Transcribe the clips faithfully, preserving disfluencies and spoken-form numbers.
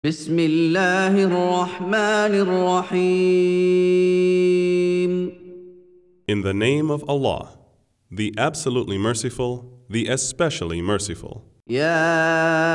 بسم الله الرحمن الرحيم In the name of Allah, the absolutely merciful, the especially merciful. يا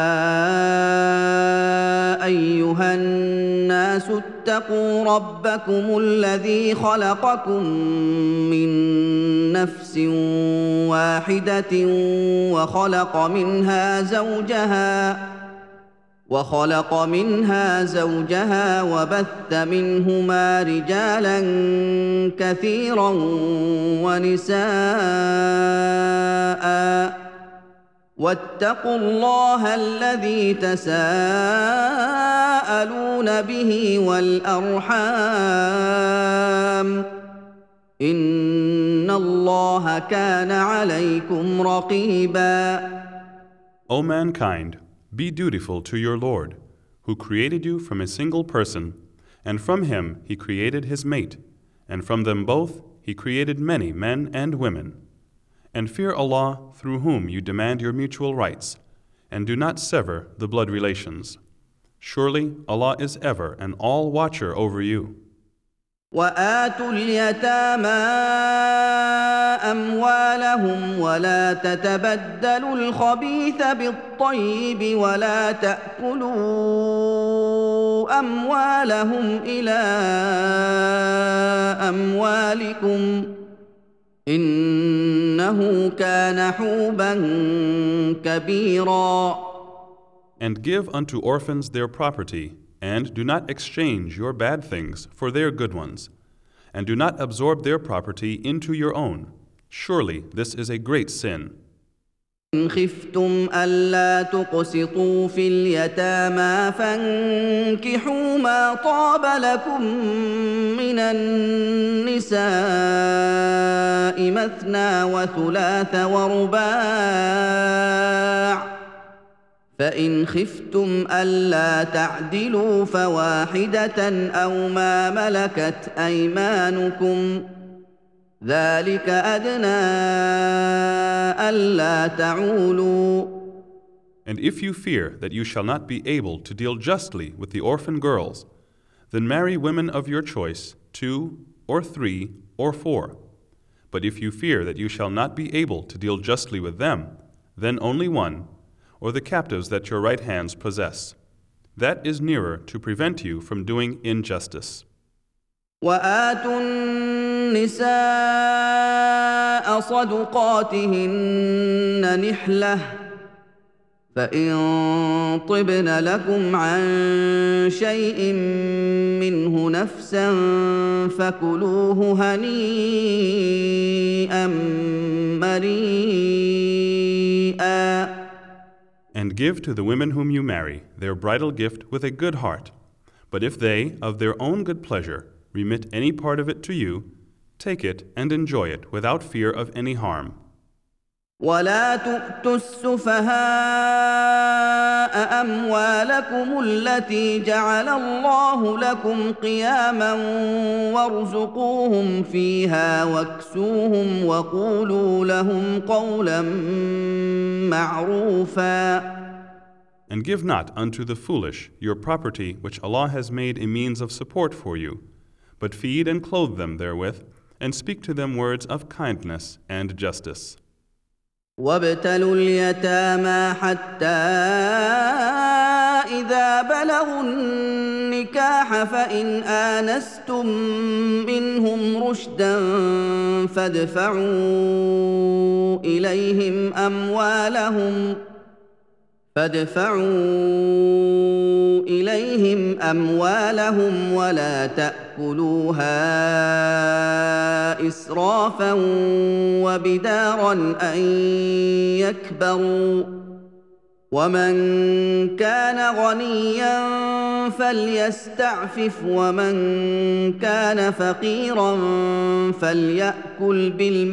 أيها الناس اتقوا ربكم الذي خلقكم من نفس واحدة وخلق منها زوجها وخلق منها زوجها وبث منهما رجالا كثيرا ونساء واتقوا الله الذي تساءلون به والأرحام إن الله كان عليكم رقيبا. O mankind, be dutiful to your Lord, who created you from a single person, and from him he created his mate, and from them both he created many men and women. And fear Allah through whom you demand your mutual rights, and do not sever the blood relations. Surely Allah is ever an all-watcher over you. وآتوا اليتامى أموالهم ولا تتبدلوا الخبيث بالطيب ولا تأكلوا أموالهم إلى أموالكم إنه كان حوبا كبيرا. And give unto orphans their property, and do not exchange your bad things for their good ones, and do not absorb their property into your own. Surely this is a great sin. إن خفتم ألا تقسطوا في اليتامى فانكحوا ما طاب لكم من النساء مثنى وثلاث ورباع فإن خفتم ألا تعدلوا فواحدة أو ما ملكت أيمانكم ذلك أدنى ألا تعولوا. And if you fear that you shall not be able to deal justly with the orphan girls, then marry women of your choice, two or three or four. But if you fear that you shall not be able to deal justly with them, then only one, or the captives that your right hands possess. That is nearer to prevent you from doing injustice. وآتوا النساء صدقاتهن نحلة فإن طبن لكم عن شيء منه نفسا فكلوه هنيئا مريئا. And give to the women whom you marry their bridal gift with a good heart. But if they, of their own good pleasure, remit any part of it to you, take it and enjoy it without fear of any harm. ولا تؤتوا السفهاء أموالكم التي جعل الله لكم قياما وارزقوهم فيها واكسوهم وقولوا لهم قولا معروفا. And give not unto the foolish your property which Allah has made a means of support for you, but feed and clothe them therewith, and speak to them words of kindness and justice. وابتلوا اليتامى حتى إذا بلغوا النكاح فإن آنستم منهم رشدا فادفعوا إليهم أموالهم فادفعوا إليهم أموالهم ولا تأكلوها إسرافا وبدارا أن يكبروا ومن كان غنيا فليستعفف ومن كان فقيرا فليأكل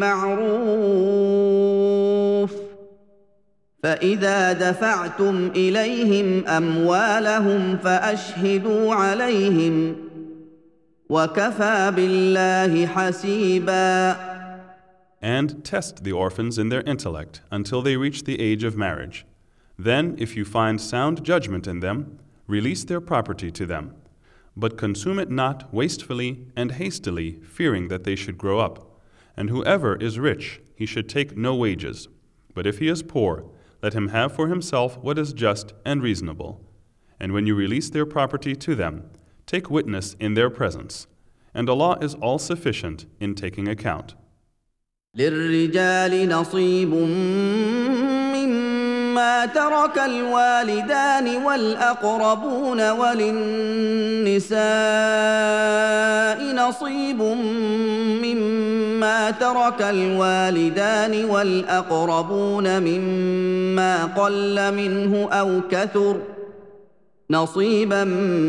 بالمعروف فإذا دفعتم إليهم أموالهم فأشهدوا عليهم وكفى بالله حسيبا. And test the orphans in their intellect until they reach the age of marriage. Then, if you find sound judgment in them, release their property to them, but consume it not wastefully and hastily, fearing that they should grow up. And whoever is rich, he should take no wages. But if he is poor, let him have for himself what is just and reasonable. And when you release their property to them, take witness in their presence. And Allah is all-sufficient in taking account. للرجال نصيب مما ترك الوالدان والأقربون وللنساء نصيب مما ترك الوالدان والأقربون مما قل منه أو كثر نصيبا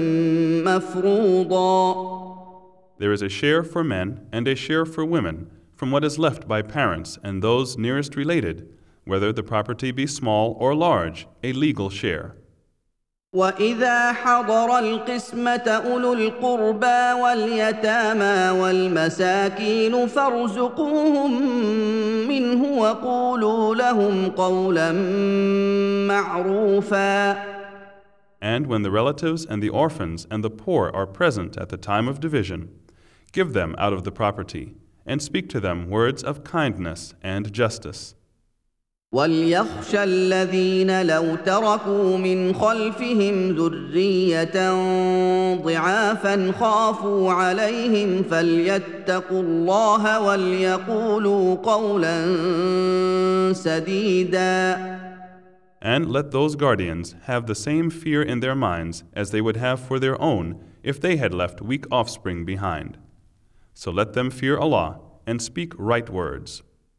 مفروضا. There is a share for men and a share for women from what is left by parents and those nearest related, whether the property be small or large, a legal share. وَإِذَا حَضَرَ الْقِسْمَةَ أُولُو الْقُرْبَى وَالْيَتَامَى وَالْمَسَاكِينُ فَارْزُقُوهُم مِّنْهُ وَقُولُوا لَهُمْ قَوْلًا مَّعْرُوفًا. And when the relatives and the orphans and the poor are present at the time of division, give them out of the property, and speak to them words of kindness and justice. وَلْيَخْشَ الَّذِينَ لَوْ تَرَكُوا مِنْ خَلْفِهِمْ ذُرِّيَّةً ضِعَافًا خَافُوا عَلَيْهِمْ فَلْيَتَّقُوا اللَّهَ وَلْيَقُولُوا قَوْلًا سَدِيدًا. And let those guardians have the same fear in their minds as they would have for their own if they had left weak offspring behind. So let them fear Allah and speak right words.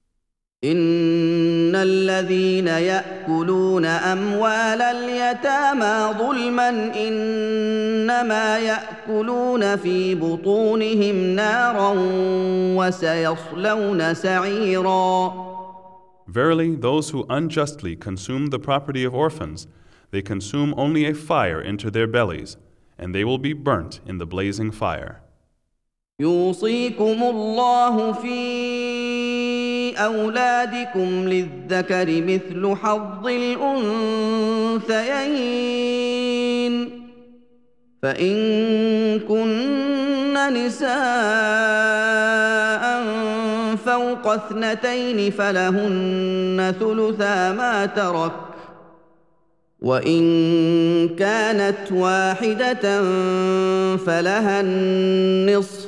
إن الذين يأكلون أموال اليتامى ظلما إنما يأكلون في بطونهم نارا وسيصلون سعيرا. Verily, those who unjustly consume the property of orphans, they consume only a fire into their bellies, and they will be burnt in the blazing fire. يوصيكم الله في أولادكم للذكر مثل حظ الأنثيين فإن كن نساء فوق اثنتين فلهن ثلثا ما ترك وإن كانت واحدة فلها النصف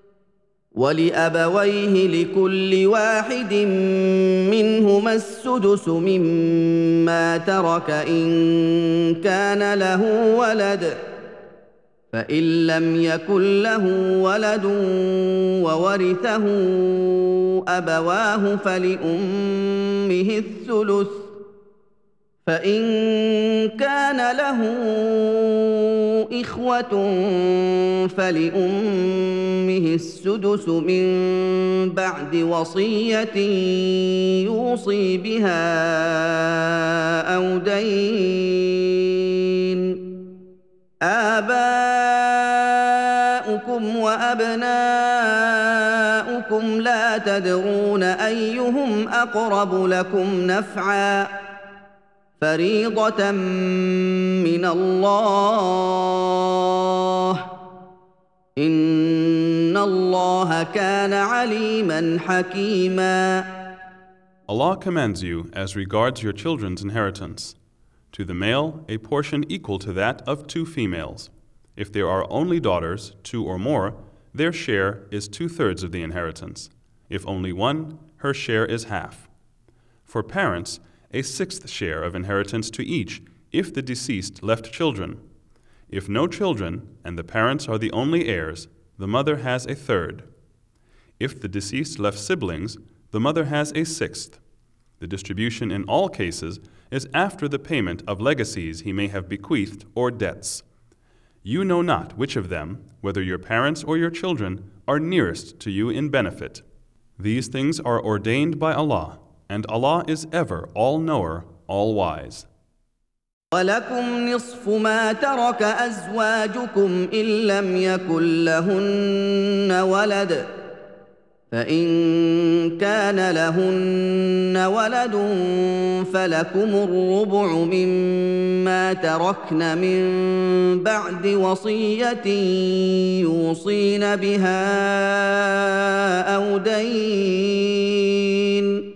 ولأبويه لكل واحد منهما السدس مما ترك إن كان له ولد فإن لم يكن له ولد وورثه أبواه فلأمه الثلث فإن كان له إخوة فلأمه السدس من بعد وصية يوصي بها أو دين. آباؤكم وأبناؤكم لا تدرون أيهم أقرب لكم نفعا فريضة من الله إن الله كان عليما حكيما. Allah commands you as regards your children's inheritance. To the male, a portion equal to that of two females. If there are only daughters, two or more, their share is two-thirds of the inheritance. If only one, her share is half. For parents, a sixth share of inheritance to each if the deceased left children. If no children, and the parents are the only heirs, the mother has a third. If the deceased left siblings, the mother has a sixth. The distribution in all cases is after the payment of legacies he may have bequeathed or debts. You know not which of them, whether your parents or your children, are nearest to you in benefit. These things are ordained by Allah, and Allah is ever all-knower, all-wise. وَلَكُمْ نِصْفُ مَا تَرَكَ أَزْوَاجُكُمْ إِن لَّمْ يَكُن لَّهُنَّ وَلَدٌ فإن كان لهن ولد فلكم الربع مما تركن من بعد وصية يوصين بها أو دين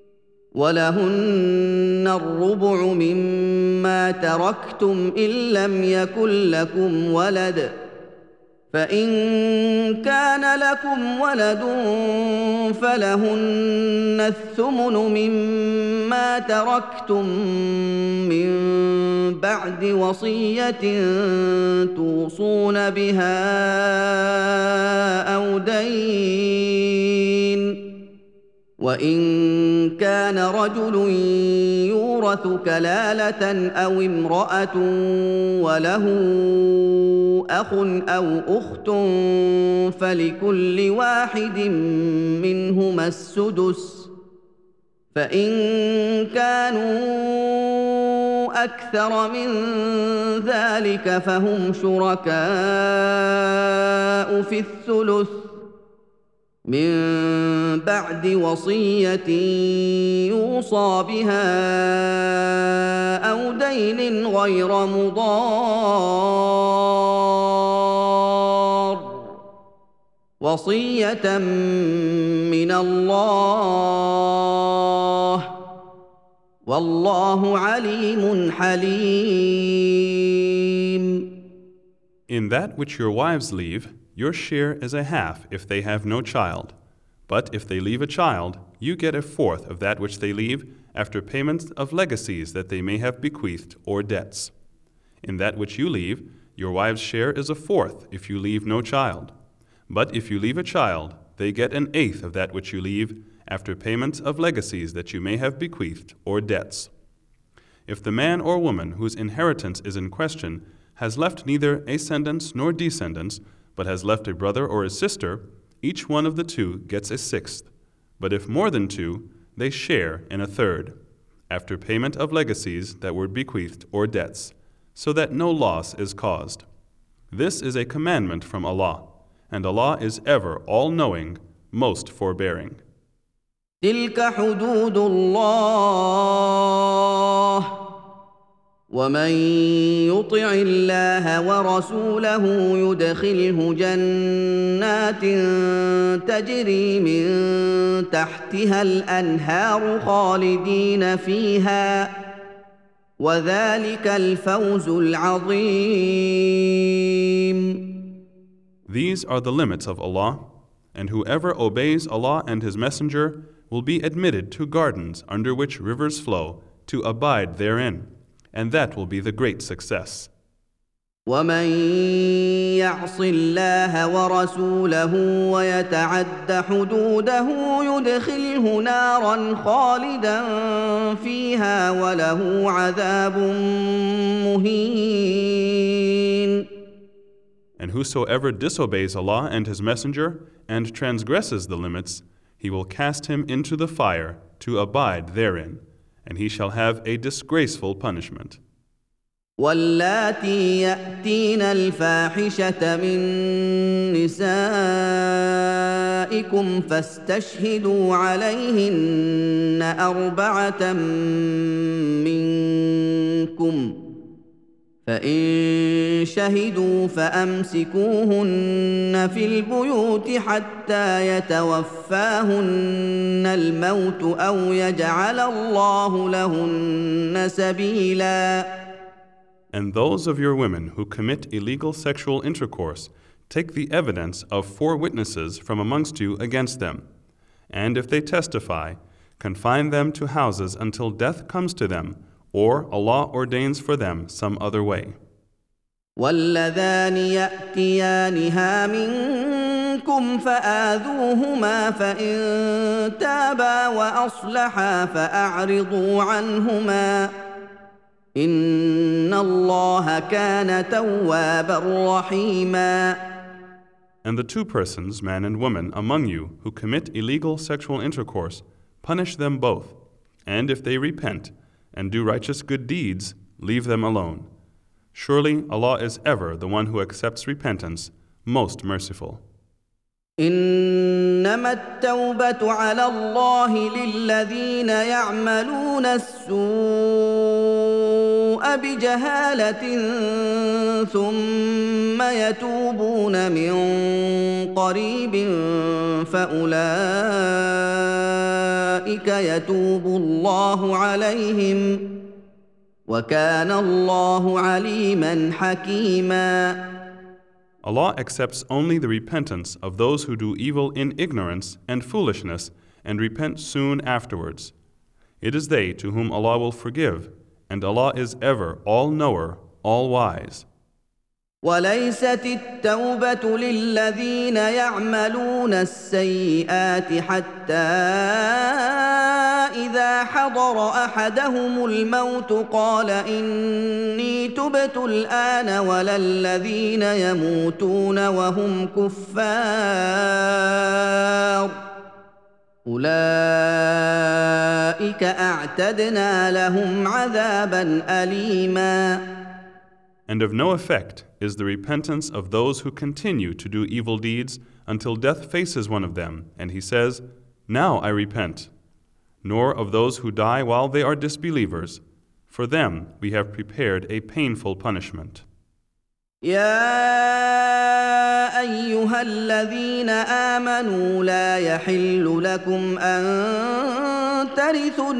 ولهن الربع مما تركتم إن لم يكن لكم ولد فإن كان لكم ولد فلهن الثمن مما تركتم من بعد وصية توصون بها أو دين وإن كان رجل يورث كلالة أو امرأة وله أخ أو أخت فلكل واحد منهما السدس فإن كانوا أكثر من ذلك فهم شركاء في الثلث من بعد وصية يوصى بها أو دين غير مضار وصية من الله والله عليم حليم. In that which your wives leave, your share is a half if they have no child. But if they leave a child, you get a fourth of that which they leave after payment of legacies that they may have bequeathed or debts. In that which you leave, your wife's share is a fourth if you leave no child. But if you leave a child, they get an eighth of that which you leave after payment of legacies that you may have bequeathed or debts. If the man or woman whose inheritance is in question has left neither ascendants nor descendants, but has left a brother or a sister, each one of the two gets a sixth. But if more than two, they share in a third, after payment of legacies that were bequeathed or debts, so that no loss is caused. This is a commandment from Allah, and Allah is ever all-knowing, most forbearing. تلك حدود الله ومن يطع الله ورسوله يدخله جنات تجري من تحتها الأنهار خالدين فيها وذلك الفوز العظيم. These are the limits of Allah, and whoever obeys Allah and His Messenger will be admitted to gardens under which rivers flow to abide therein, and that will be the great success. ومن يعص الله ورسوله ويتعد حدوده يدخله نارا خالدا فيها وله عذاب مهين. And whosoever disobeys Allah and His Messenger and transgresses the limits, He will cast him into the fire to abide therein, and he shall have a disgraceful punishment. واللاتي يأتين الفاحشة من نسائكم فاستشهدوا عليهن أربعة منكم فإن شهدوا فأمسكوهن في البيوت حتى يتوفاهن الموت أو يجعل الله لهن سبيلا. And those of your women who commit illegal sexual intercourse, take the evidence of four witnesses from amongst you against them. And if they testify, confine them to houses until death comes to them, or Allah ordains for them some other way. واللذان يأتيانها منكم فآذوهما فإن تابا وأصلحا فأعرضوا عنهما إن الله كان توابا رحيما. And the two persons, man and woman, among you who commit illegal sexual intercourse, punish them both, and if they repent and do righteous good deeds, leave them alone. Surely Allah is ever the one who accepts repentance, most merciful. إن إنما التوبة على الله للذين يعملون السوء بجهالة ثم يتوبون من قريب فأولئك يتوب الله عليهم وكان الله عليما حكيما. Allah accepts only the repentance of those who do evil in ignorance and foolishness and repent soon afterwards. It is they to whom Allah will forgive, and Allah is ever all-knower, all-wise. وليست التوبة للذين يعملون السيئات حتى إذا حضر أحدهم الموت قال إني تبت الآن ولا الذين يموتون وهم كفار أولئك أعتدنا لهم عذابا أليما. And of no effect is the repentance of those who continue to do evil deeds until death faces one of them, and he says, "Now I repent," nor of those who die while they are disbelievers. For them we have prepared a painful punishment. يا أيها الذين آمنوا لا يحل لكم أن ترثوا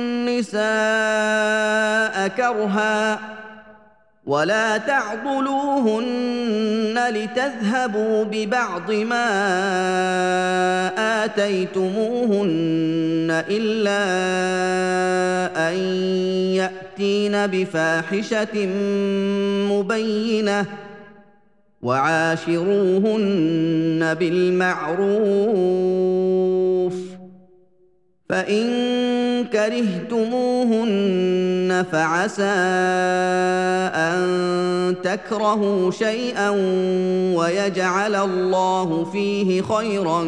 النساء كرها ولا تعضلوهن لتذهبوا ببعض ما آتيتموهن إلا أن يأتين بفاحشة مبينة وعاشروهن بالمعروف فإن كرهتموهن فعسى أن تكرهوا شيئا ويجعل الله فيه خيرا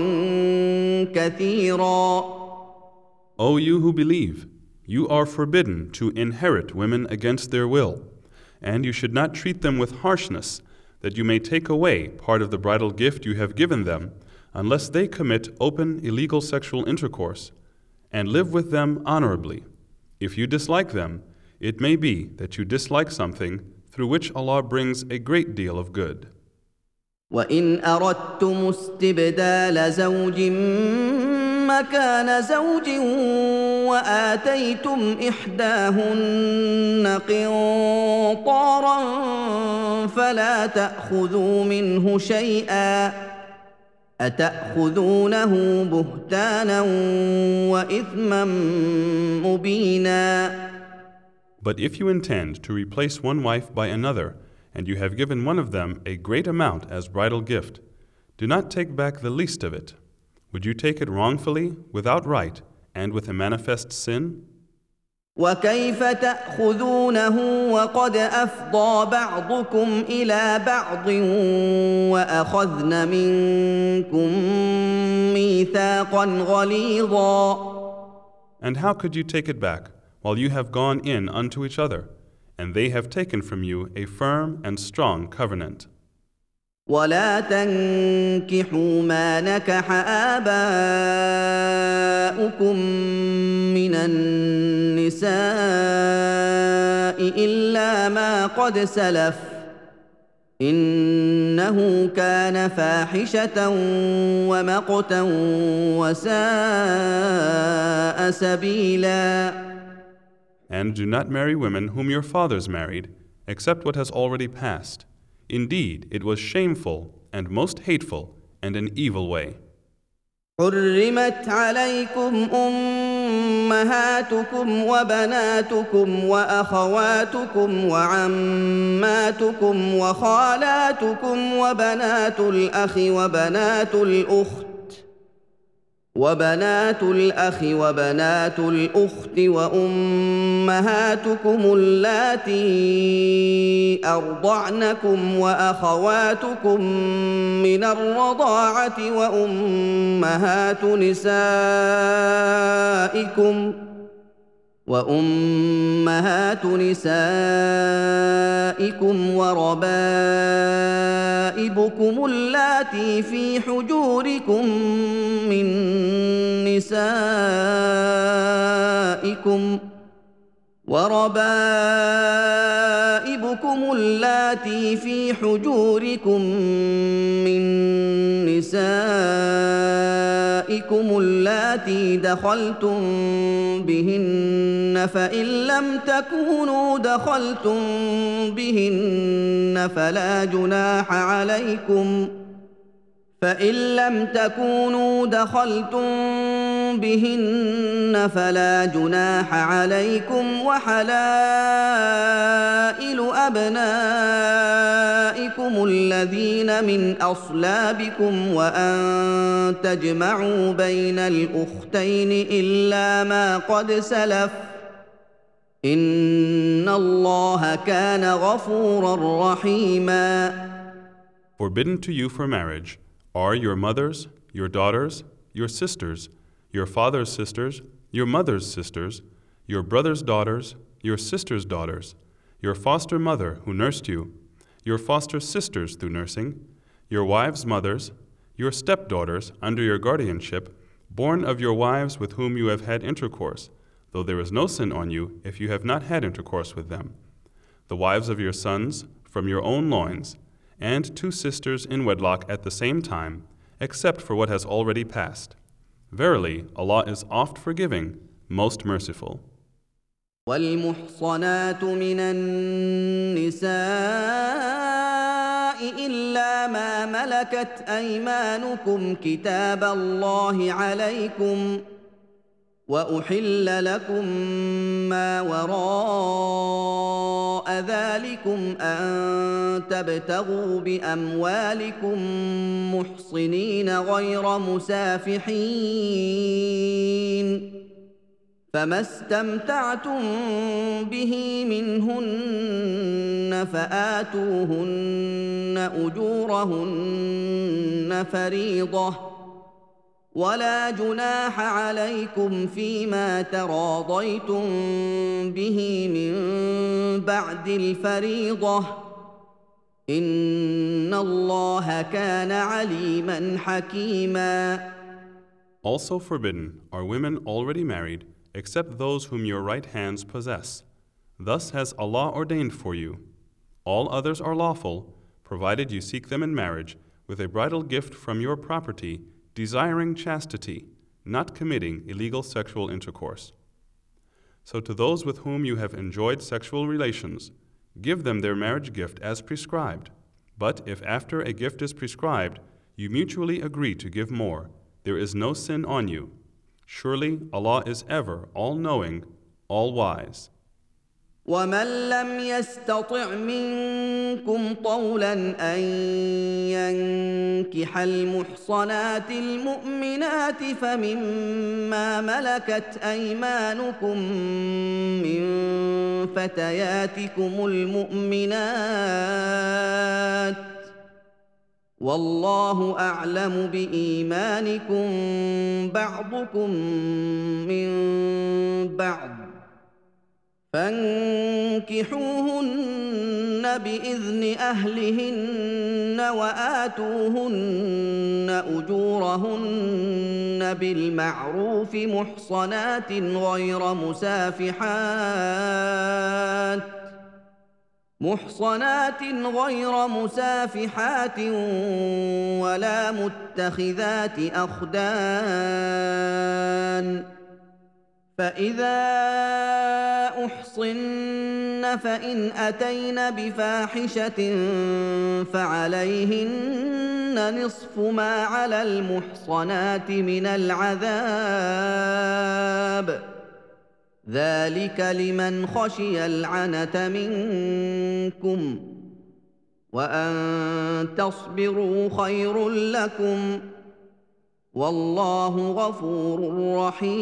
كثيرا. O you who believe, you are forbidden to inherit women against their will, and you should not treat them with harshness, that you may take away part of the bridal gift you have given them, unless they commit open illegal sexual intercourse, and live with them honorably. If you dislike them, it may be that you dislike something through which Allah brings a great deal of good. وَإِنْ أَرَدتُّمُ اسْتِبْدَالَ زَوْجٍ مَكَانَ زَوْجٍ وَآتَيْتُمْ إِحْدَاهُنَّ قِنطَارًا فَلَا تَأْخُذُوا مِنْهُ شَيْئًا أَتَأْخُذُونَهُ بُهْتَانًا وَإِثْمًا مُبِينًا. But if you intend to replace one wife by another, and you have given one of them a great amount as bridal gift, do not take back the least of it. Would you take it wrongfully, without right, and with a manifest sin? وَكَيْفَ تَأْخُذُونَهُ وَقَدْ أَفْضَىٰ بَعْضُكُمْ إِلَىٰ بَعْضٍ وَأَخَذْنَ مِنكُم مِّيثَاقًا غَلِيظًا. And how could you take it back, while you have gone in unto each other, and they have taken from you a firm and strong covenant? ولا تنكحوا ما نكح آباؤكم من النساء إلا ما قد سلف إنه كان فاحشة ومقتا وساء سبيلا. And do not marry women whom your fathers married, except what has already passed. Indeed, it was shameful and most hateful and an evil way. حرمت عليكم أمهاتكم وبناتكم وأخواتكم وعماتكم وخالاتكم وبنات الأخ وبنات الأخت وبنات الأخ وبنات الأخت وأمهاتكم اللاتي أرضعنكم وأخواتكم من الرضاعة وأمهات نسائكم وأمهات نسائكم وربائبكم وربائبكم اللاتي في حجوركم من نسائكم وربائبكم اللاتي في حجوركم من نسائكم اللاتي دخلتم بهن فإن لم تكونوا دخلتم بهن فلا جناح عليكم فإن لم تكونوا دخلتم بهن فلا جناح عليكم وحلائل أبنائكم الذين من أصلابكم وأن تجمعوا بين الأختين إلا ما قد سلف إن الله كان غفورا رحيما. Forbidden to you for marriage are your mothers, your daughters, your sisters, your father's sisters, your mother's sisters, your brother's daughters, your sister's daughters, your foster mother who nursed you, your foster sisters through nursing, your wives' mothers, your stepdaughters under your guardianship, born of your wives with whom you have had intercourse, though there is no sin on you if you have not had intercourse with them, the wives of your sons from your own loins, and two sisters in wedlock at the same time, except for what has already passed. Verily, Allah is oft forgiving, most merciful. والمحصنات من النساء إلا ما ملكت أيمانكم كتاب الله عليكم وأحل لكم ما وراء ذلكم أن تبتغوا بأموالكم محصنين غير مسافحين فما استمتعتم به منهن فآتوهن أجورهن فريضة ولا جناح عليكم فيما تراضيتم به من بعد الفريضة إن الله كان عليما حكيما. Also forbidden are women already married, except those whom your right hands possess. Thus has Allah ordained for you. All others are lawful, provided you seek them in marriage with a bridal gift from your property, desiring chastity, not committing illegal sexual intercourse. So to those with whom you have enjoyed sexual relations, give them their marriage gift as prescribed. But if after a gift is prescribed, you mutually agree to give more, there is no sin on you. Surely Allah is ever all-knowing, all-wise. ومن لم يستطع منكم طولا أن ينكح المحصنات المؤمنات فمما ملكت أيمانكم من فتياتكم المؤمنات والله أعلم بإيمانكم بعضكم من بعض فانكحوهن بإذن أهلهن وآتوهن أجورهن بالمعروف محصنات غير مسافحات محصنات غير مسافحات ولا متخذات أخدان فإذا أحصن فإن أتين بفاحشة فعليهن نصف ما على المحصنات من العذاب ذلك لمن خشي العنة منكم وأن تصبروا خير لكم والله غفور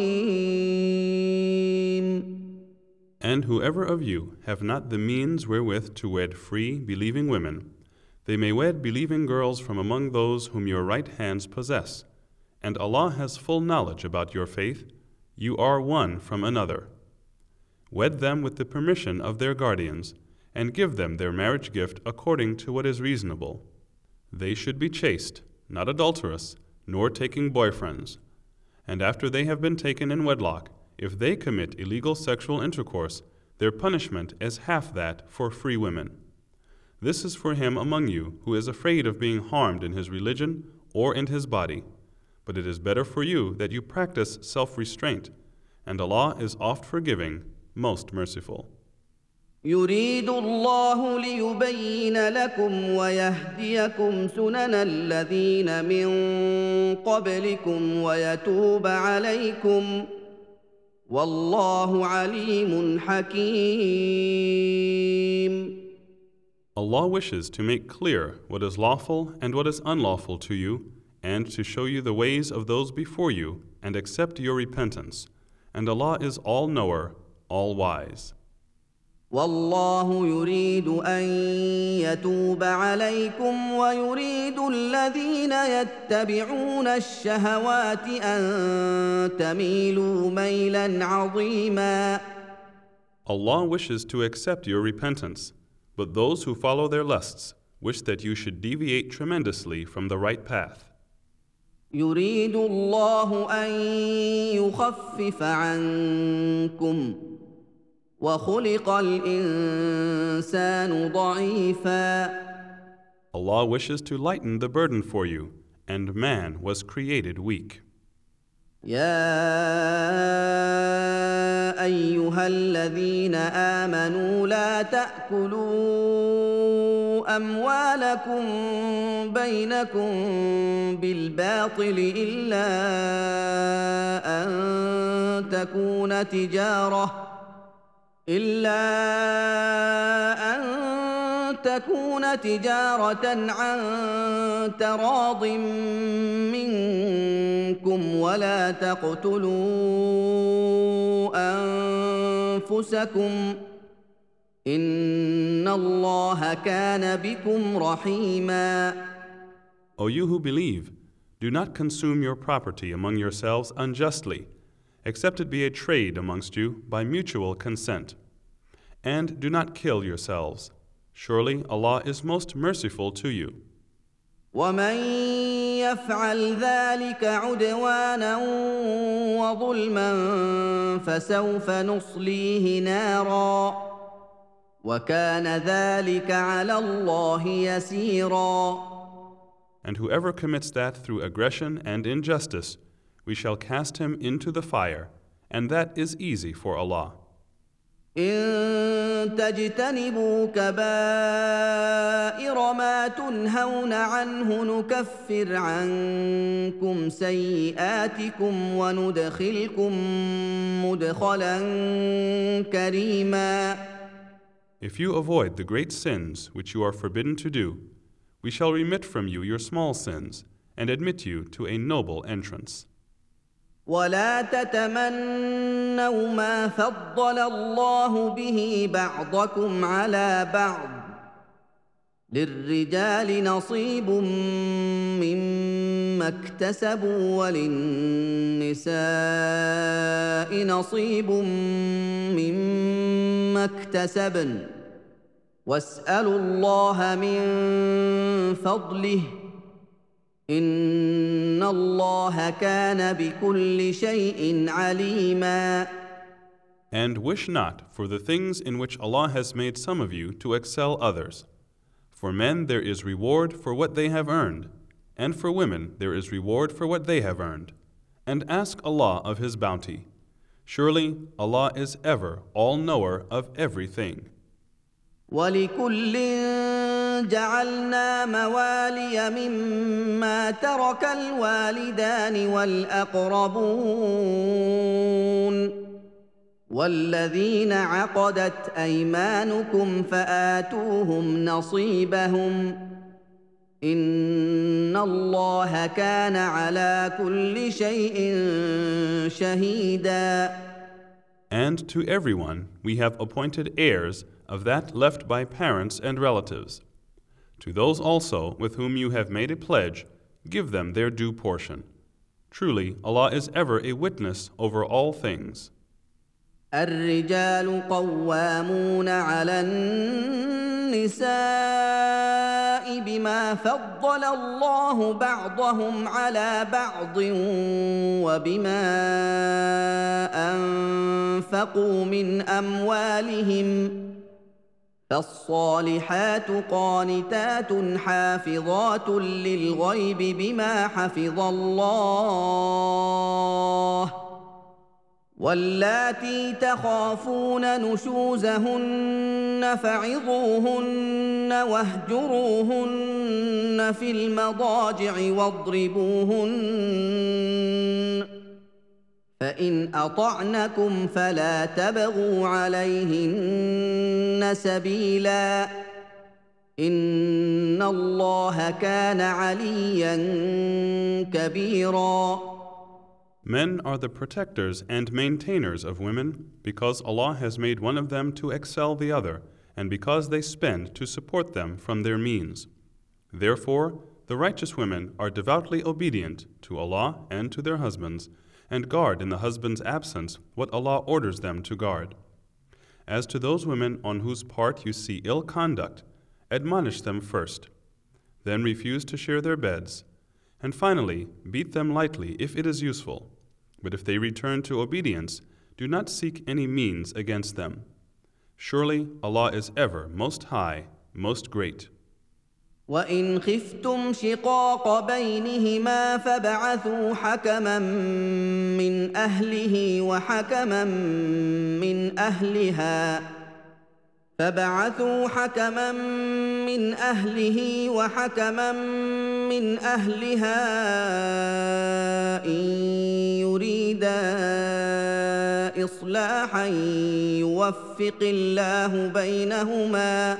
رحيم. And whoever of you have not the means wherewith to wed free, believing women, they may wed believing girls from among those whom your right hands possess. And Allah has full knowledge about your faith. You are one from another. Wed them with the permission of their guardians, and give them their marriage gift according to what is reasonable. They should be chaste, not adulterous, nor taking boyfriends. And after they have been taken in wedlock, if they commit illegal sexual intercourse, their punishment is half that for free women. This is for him among you who is afraid of being harmed in his religion or in his body. But it is better for you that you practice self-restraint, and Allah is oft forgiving, most merciful. يريد الله ليبين لكم ويهديكم سنن الذين من قبلكم ويتوب عليكم والله عليم حكيم. Allah wishes to make clear what is lawful and what is unlawful to you, and to show you the ways of those before you, and accept your repentance. And Allah is all-knower, all-wise. والله يريد أن يتوب عليكم ويريد الذين يتبعون الشهوات أن تميلوا ميلا عظيما. Allah wishes to accept your repentance, but those who follow their lusts wish that you should deviate tremendously from the right path. يريد الله أن يخفف عنكم وخلق الإنسان ضعيفا. Allah wishes to lighten the burden for you, and man was created weak. يا أيها الذين آمنوا لا تأكلوا أموالكم بينكم بالباطل إلا أن تكون تجارة إلا أن تكون تجارة عن تراض منكم ولا تقتلوا أنفسكم إن الله كان بكم رحيما. O you who believe, do not consume your property among yourselves unjustly, except it be a trade amongst you by mutual consent. And do not kill yourselves. Surely Allah is most merciful to you. ومن يفعل ذلك عدوانا وظلما فسوف نصليه نارا وكان ذلك على الله يسيرا. And whoever commits that through aggression and injustice, we shall cast him into the fire, and that is easy for Allah. إن تجتنبوا كبائر ما تنهون عنه نكفر عنكم سيئاتكم وندخلكم مدخلا كريما. If you avoid the great sins which you are forbidden to do, we shall remit from you your small sins and admit you to a noble entrance. ولا تتمنوا ما فضل الله به بعضكم على بعض للرجال نصيب مما اكتسبوا وللنساء نصيب مما اكتسبن واسألوا الله من فضله إن الله كان بكل شيء عليما. And wish not for the things in which Allah has made some of you to excel others. For men there is reward for what they have earned, and for women there is reward for what they have earned. And ask Allah of His bounty. Surely Allah is ever all-knower of everything. ولكل جعلنا موالي مما ترك الوالدان والأقربون والذين عقدت أيمانكم فآتوهم نصيبهم إن الله كان على كل شيء شهيدا. And to everyone we have appointed heirs of that left by parents and relatives. To those also with whom you have made a pledge, give them their due portion. Truly, Allah is ever a witness over all things. الرجال قوامون على النساء بما فضل الله بعضهم على بعض وبما أنفقوا من أموالهم فالصالحات قانتات حافظات للغيب بما حفظ الله واللاتي تخافون نشوزهن فعظوهن واهجروهن في المضاجع واضربوهن فإن أطعنكم فلا تبغوا عليهن سبيلا إن الله كان عليا كبيرا. Men are the protectors and maintainers of women because Allah has made one of them to excel the other and because they spend to support them from their means. Therefore, the righteous women are devoutly obedient to Allah and to their husbands and guard in the husband's absence what Allah orders them to guard. As to those women on whose part you see ill conduct, admonish them first, then refuse to share their beds, and finally beat them lightly if it is useful. But if they return to obedience, do not seek any means against them. Surely Allah is ever most high, most great. وَإِنْ خِفْتُمْ شِقَاقَ بَيْنِهِمَا فَابْعَثُوا حَكَمًا مِّنْ أَهْلِهِ وَحَكَمًا مِّنْ أَهْلِهَا فَابْعَثُوا حَكَمًا مِّنْ أَهْلِهِ وَحَكَمًا مِّنْ أَهْلِهَا إِن يُرِيدَا إِصْلَاحًا يُوَفِّقِ اللَّهُ بَيْنَهُمَا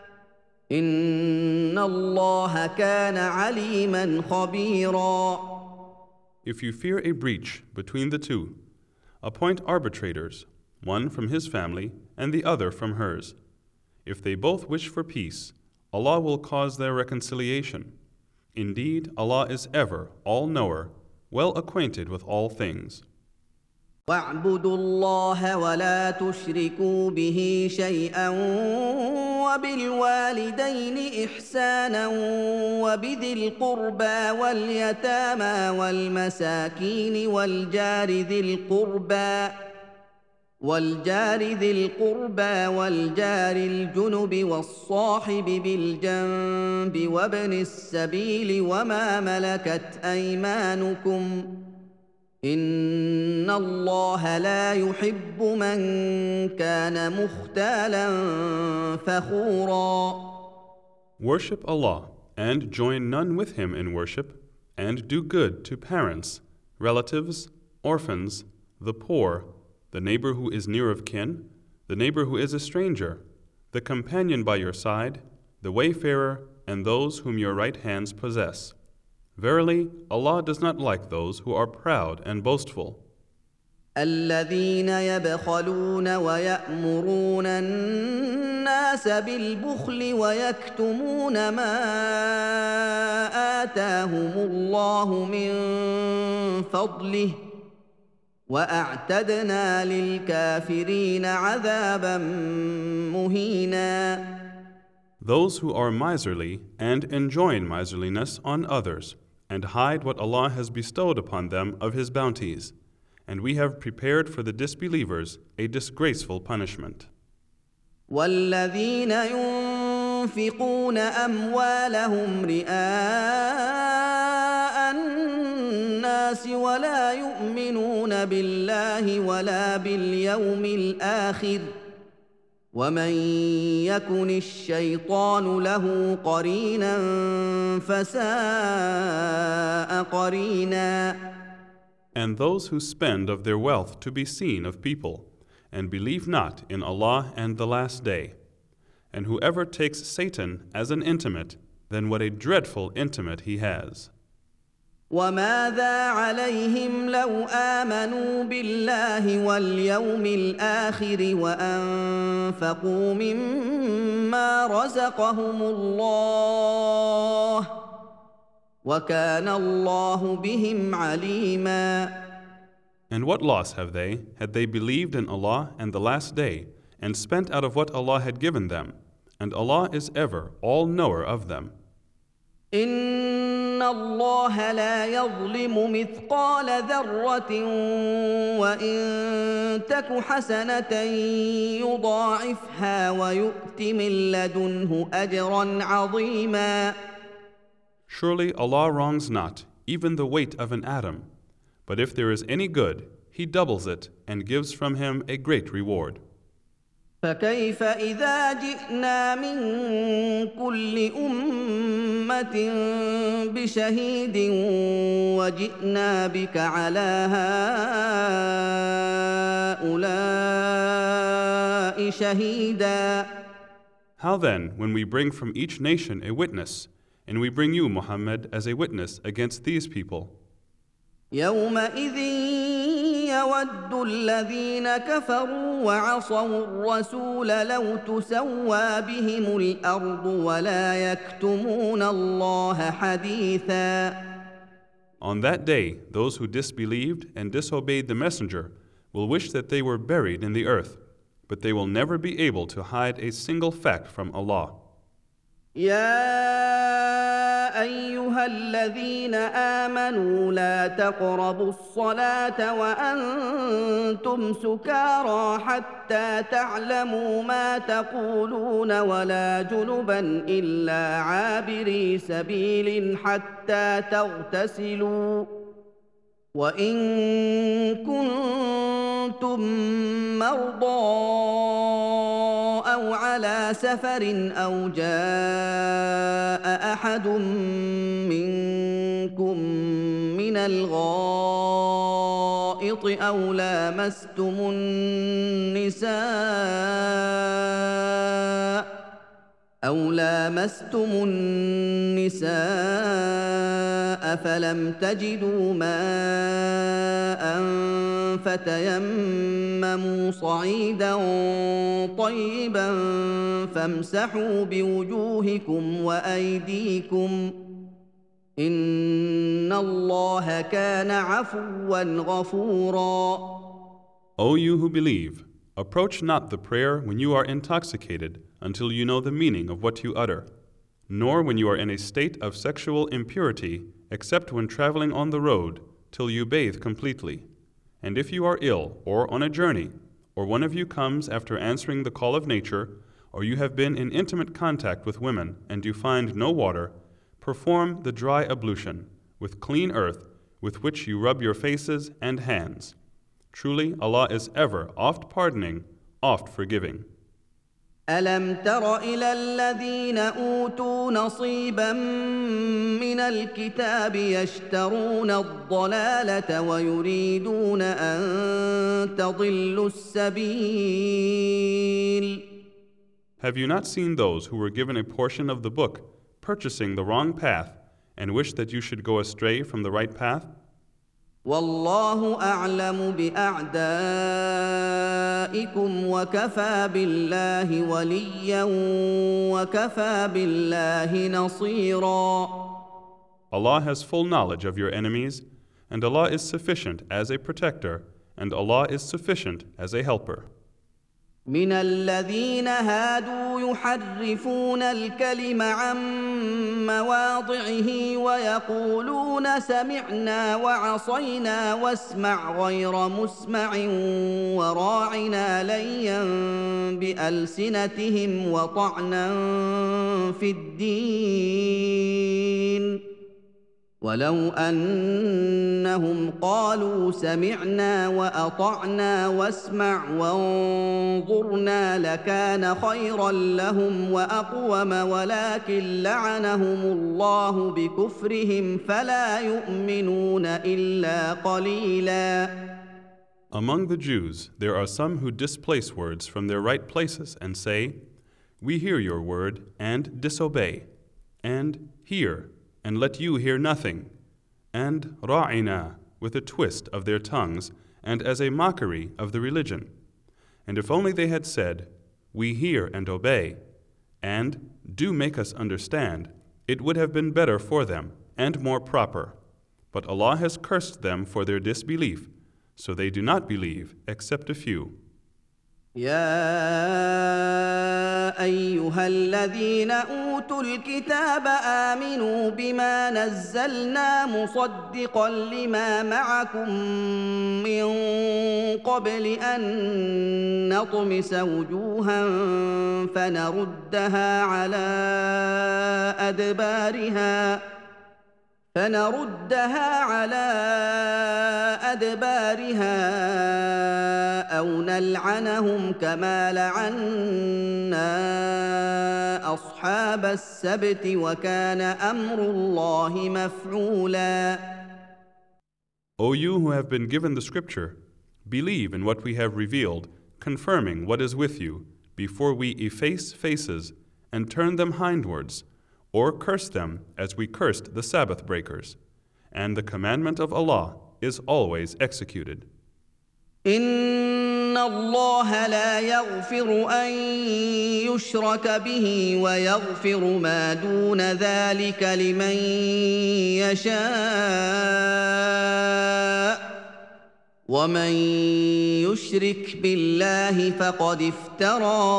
إِنَّ اللَّهَ كَانَ عَلِيمًا خَبِيرًا. If you fear a breach between the two, appoint arbitrators, one from his family and the other from hers. If they both wish for peace, Allah will cause their reconciliation. Indeed, Allah is ever all-knower, well acquainted with all things. وَاعْبُدُوا اللَّهَ وَلَا تُشْرِكُوا بِهِ شَيْئًا وَبِالْوَالِدَيْنِ إِحْسَانًا وَبِذِي الْقُرْبَى وَالْيَتَامَى وَالْمَسَاكِينِ وَالْجَارِ ذِي الْقُرْبَى والجار ذي القربى والجار الجنب والصاحب بالجنب وابن السبيل وما ملكت أيمانكم إن الله لا يحب من كان مختالا فخورا. Worship Allah and join none with Him in worship, and do good to parents, relatives, orphans, the poor, the neighbor who is near of kin, the neighbor who is a stranger, the companion by your side, the wayfarer, and those whom your right hands possess. Verily, Allah does not like those who are proud and boastful. الذين يبخلون ويأمرون الناس بالبخل ويكتمون ما آتاهم الله من فضله وأعتدنا للكافرين عذابا مهينا. Those who are miserly and enjoin miserliness on others, and hide what Allah has bestowed upon them of His bounties, and we have prepared for the disbelievers a disgraceful punishment. والذين ينفقون أموالهم رئاء الناس ولا يؤمنون بالله ولا باليوم الآخر ومن يكن الشيطان له قرينا فساء قرينا. And those who spend of their wealth to be seen of people, and believe not in Allah and the Last Day. And whoever takes Satan as an intimate, then what a dreadful intimate he has. وَمَاذَا عَلَيْهِمْ لَوْ آمَنُوا بِاللَّهِ وَالْيَوْمِ الْآخِرِ وَأَنفَقُوا مِمَّا رَزَقَهُمُ اللَّهُ وَكَانَ اللَّهُ بِهِمْ عَلِيمًا. And what loss have they, had they believed in Allah and the Last Day, and spent out of what Allah had given them, and Allah is ever all-knower of them. إن الله لا يظلم مثقال ذرة وإن تك حسنة يضاعفها ويؤت من لدنه أجرا عظيما. Surely Allah wrongs not, even the weight of an atom. But if there is any good, He doubles it and gives from Him a great reward. فكيف إذا جئنا من كل أمة بشهيد وجئنا بك على هؤلاء شهيدا. How then, when we bring from each nation a witness, and we bring you, Muhammad, as a witness against these people? يومئذ يود الذين كفروا وعصوا الرسول لو تسوى بهم الأرض ولا يكتمون الله حديثا. On that day, those who disbelieved and disobeyed the messenger will wish that they were buried in the earth, but they will never be able to hide a single fact from Allah. يا أيها الذين آمنوا لا تقربوا الصلاة وأنتم سكارى حتى تعلموا ما تقولون ولا جنبا إلا عابري سبيل حتى تغتسلوا وإن كنتم مرضى أو على سفر أو جاء أحد منكم من الغائط أو لامستم النساء أو لامستم النساء فلم تجدوا ماء فتيمموا صعيدا طيبا فامسحوا بوجوهكم وأيديكم إن الله كان عفوا غفورا. O you who believe, approach not the prayer when you are intoxicated until you know the meaning of what you utter, nor when you are in a state of sexual impurity, except when traveling on the road, till you bathe completely. And if you are ill or on a journey, or one of you comes after answering the call of nature, or you have been in intimate contact with women and you find no water, perform the dry ablution with clean earth with which you rub your faces and hands. Truly, Allah is ever oft pardoning, oft forgiving. ألم تر إلى الذين أوتوا نصيبا من الكتاب يشترون الضلالة ويريدون أن تضلوا السبيل. Have you not seen those who were given a portion of the book purchasing the wrong path and wish that you should go astray from the right path? والله أعلم بأعدائكم وكفى بالله وليا وكفى بالله نصيرا. Allah has full knowledge of your enemies, and Allah is sufficient as a protector, and Allah is sufficient as a helper. من الذين هادوا يحرفون الكلم عن مواضعه ويقولون سمعنا وعصينا واسمع غير مسمع وراعنا ليا بألسنتهم وطعنا في الدين ولو أنهم قالوا سمعنا وأطعنا واسمع وانظرنا لكان خيرا لهم وأقوم ولكن لعنهم الله بكفرهم فلا يؤمنون إلا قليلا. Among the Jews, there are some who displace words from their right places and say, "We hear your word and disobey," and "hear and let you hear nothing," and ra'ina with a twist of their tongues and as a mockery of the religion. And if only they had said, "We hear and obey," and "do make us understand," it would have been better for them and more proper. But Allah has cursed them for their disbelief, so they do not believe except a few. يا ايها الذين اوتوا الكتاب امنوا بما نزلنا مصدقا لما معكم من قبل ان نطمس وجوها فنردها على ادبارها فنردها على أدبارها أو نلعنهم كما لعنا أصحاب السبت وكان أمر الله مفعولا. O you who have been given the scripture, believe in what we have revealed, confirming what is with you, before we efface faces and turn them hindwards, or curse them as we cursed the Sabbath breakers. And the commandment of Allah is always executed. إن الله لا يغفر أن يشرك به ويغفر ما دون ذلك لمن يشاء ومن يشرك بالله فقد افترى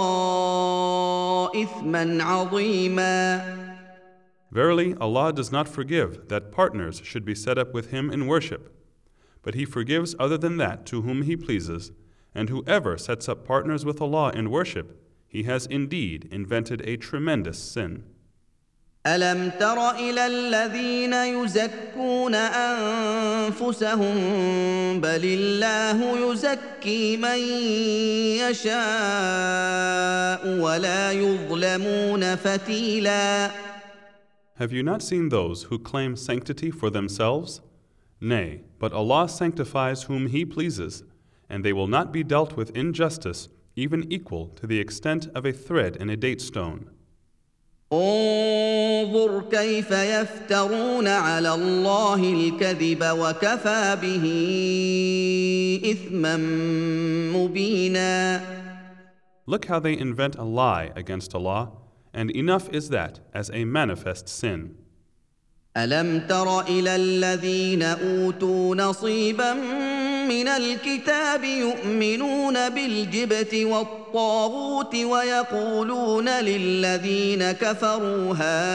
إثما عظيما. Verily, Allah does not forgive that partners should be set up with Him in worship, but He forgives other than that to whom He pleases, and whoever sets up partners with Allah in worship, he has indeed invented a tremendous sin. ألم تر إلى الذين يزكون أنفسهم بل الله يزكي من يشاء ولا يظلمون فتيلاً. Have you not seen those who claim sanctity for themselves? Nay, but Allah sanctifies whom He pleases, and they will not be dealt with injustice even equal to the extent of a thread in a date stone. انظر كيف يفترون على الله الكذب وكفى به إثما مبينا. Look how they invent a lie against Allah, and enough is that as a manifest sin. ألم تر إلى الذين أوتوا نصيبا من الكتاب يؤمنون بالجبت والطاغوت ويقولون للذين كفروا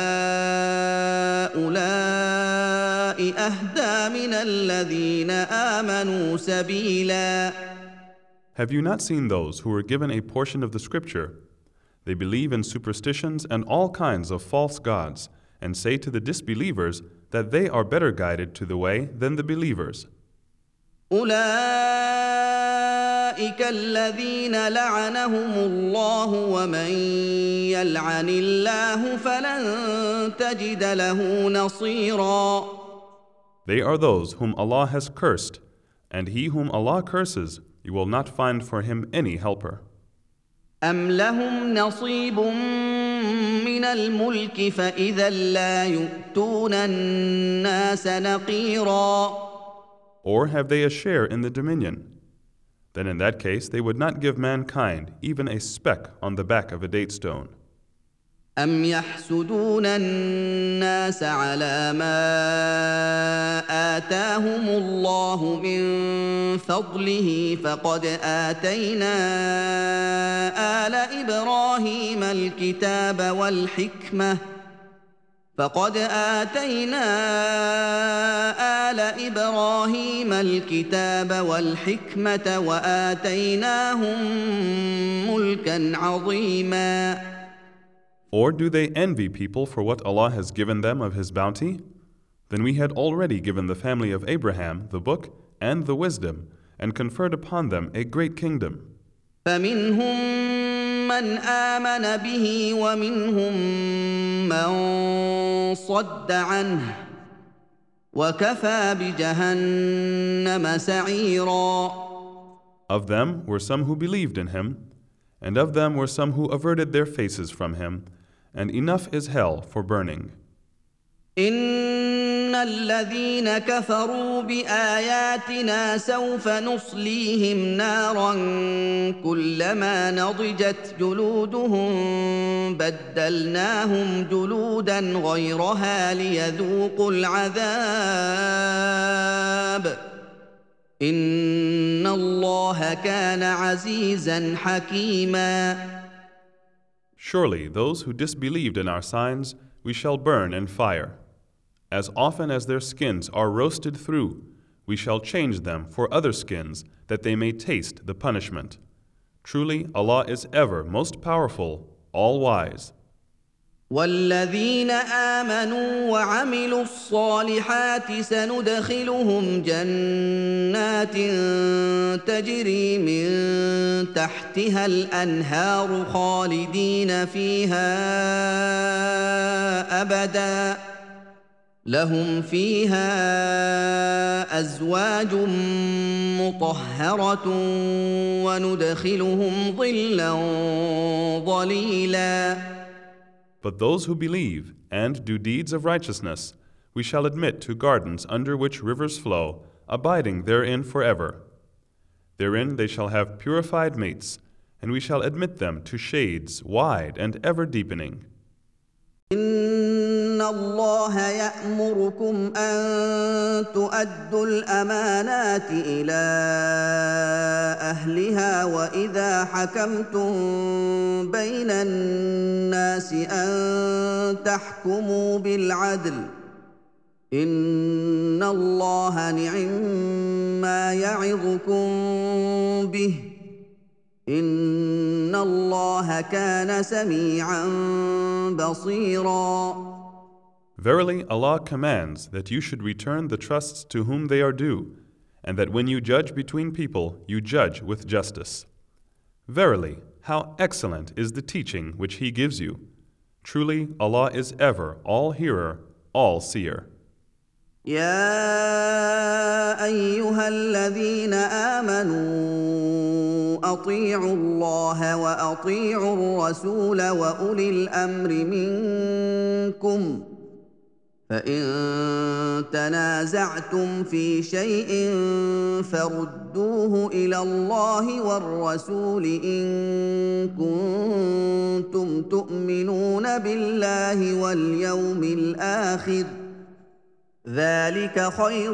هؤلاء أهدى من الذين آمنوا سبيلا. Have you not seen those who were given a portion of the scripture? They believe in superstitions and all kinds of false gods, and say to the disbelievers that they are better guided to the way than the believers. أولئك الذين لعنهم الله ومن يلعن الله فلن تجد له نصيرا. They are those whom Allah has cursed, and he whom Allah curses, you will not find for him any helper. أم لهم نصيب من الملك فإذا لا يؤتون الناس نقيرا. Or have they a share in the dominion? Then in that case they would not give mankind even a speck on the back of a date stone. أم يحسدون الناس على ما آتاهم الله من فضله فقد آتينا آل إبراهيم الكتاب والحكمة فقد آتينا آل إبراهيم الكتاب والحكمة وآتيناهم ملكا عظيما. Or do they envy people for what Allah has given them of His bounty? Then we had already given the family of Abraham the book and the wisdom, and conferred upon them a great kingdom. فمنهم من آمن به ومنهم من صد عنه وكفى بجهنم سعيرا. Of them were some who believed in Him, and of them were some who averted their faces from Him, and enough is hell for burning. إن الذين كفروا بآياتنا سوف نصليهم نارا كلما نضجت جلودهم بدلناهم جلودا غيرها ليذوقوا العذاب إن الله كان عزيزا حكيما. Surely those who disbelieved in our signs we shall burn in fire. As often as their skins are roasted through, we shall change them for other skins, that they may taste the punishment. Truly, Allah is ever most powerful, all-wise. والذين آمنوا وعملوا الصالحات سندخلهم جنات تجري من تحتها الأنهار خالدين فيها أبدا لهم فيها أزواج مطهرة وندخلهم ظلا ظليلا. But those who believe and do deeds of righteousness, we shall admit to gardens under which rivers flow, abiding therein forever. Therein they shall have purified mates, and we shall admit them to shades wide and ever deepening. إن الله يأمركم أن تؤدوا الأمانات إلى أهلها وإذا حكمتم بين الناس أن تحكموا بالعدل إن الله نعما يعظكم به إن الله كان سميعا بصيرا. Verily, Allah commands that you should return the trusts to whom they are due, and that when you judge between people, you judge with justice. Verily, how excellent is the teaching which He gives you. Truly, Allah is ever all-hearer, all-seer. يا أيها الذين آمنوا أطيعوا الله وأطيعوا الرسول وأولي الأمر منكم فإن تنازعتم في شيء فردوه إلى الله والرسول إن كنتم تؤمنون بالله واليوم الآخر ذلك خير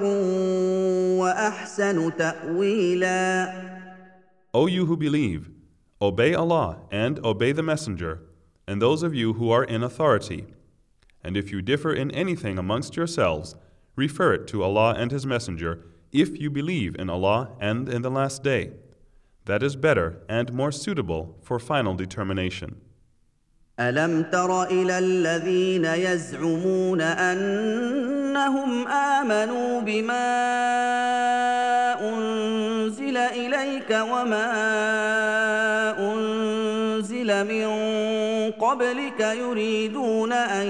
وأحسن تأويلا. O you who believe, obey Allah and obey the Messenger, and those of you who are in authority. And if you differ in anything amongst yourselves, refer it to Allah and His Messenger, if you believe in Allah and in the last day. That is better and more suitable for final determination. ألم تر إلى الذين يزعمون أنهم آمنوا بما أنزل إليك وما أنزل من قبلك يريدون أن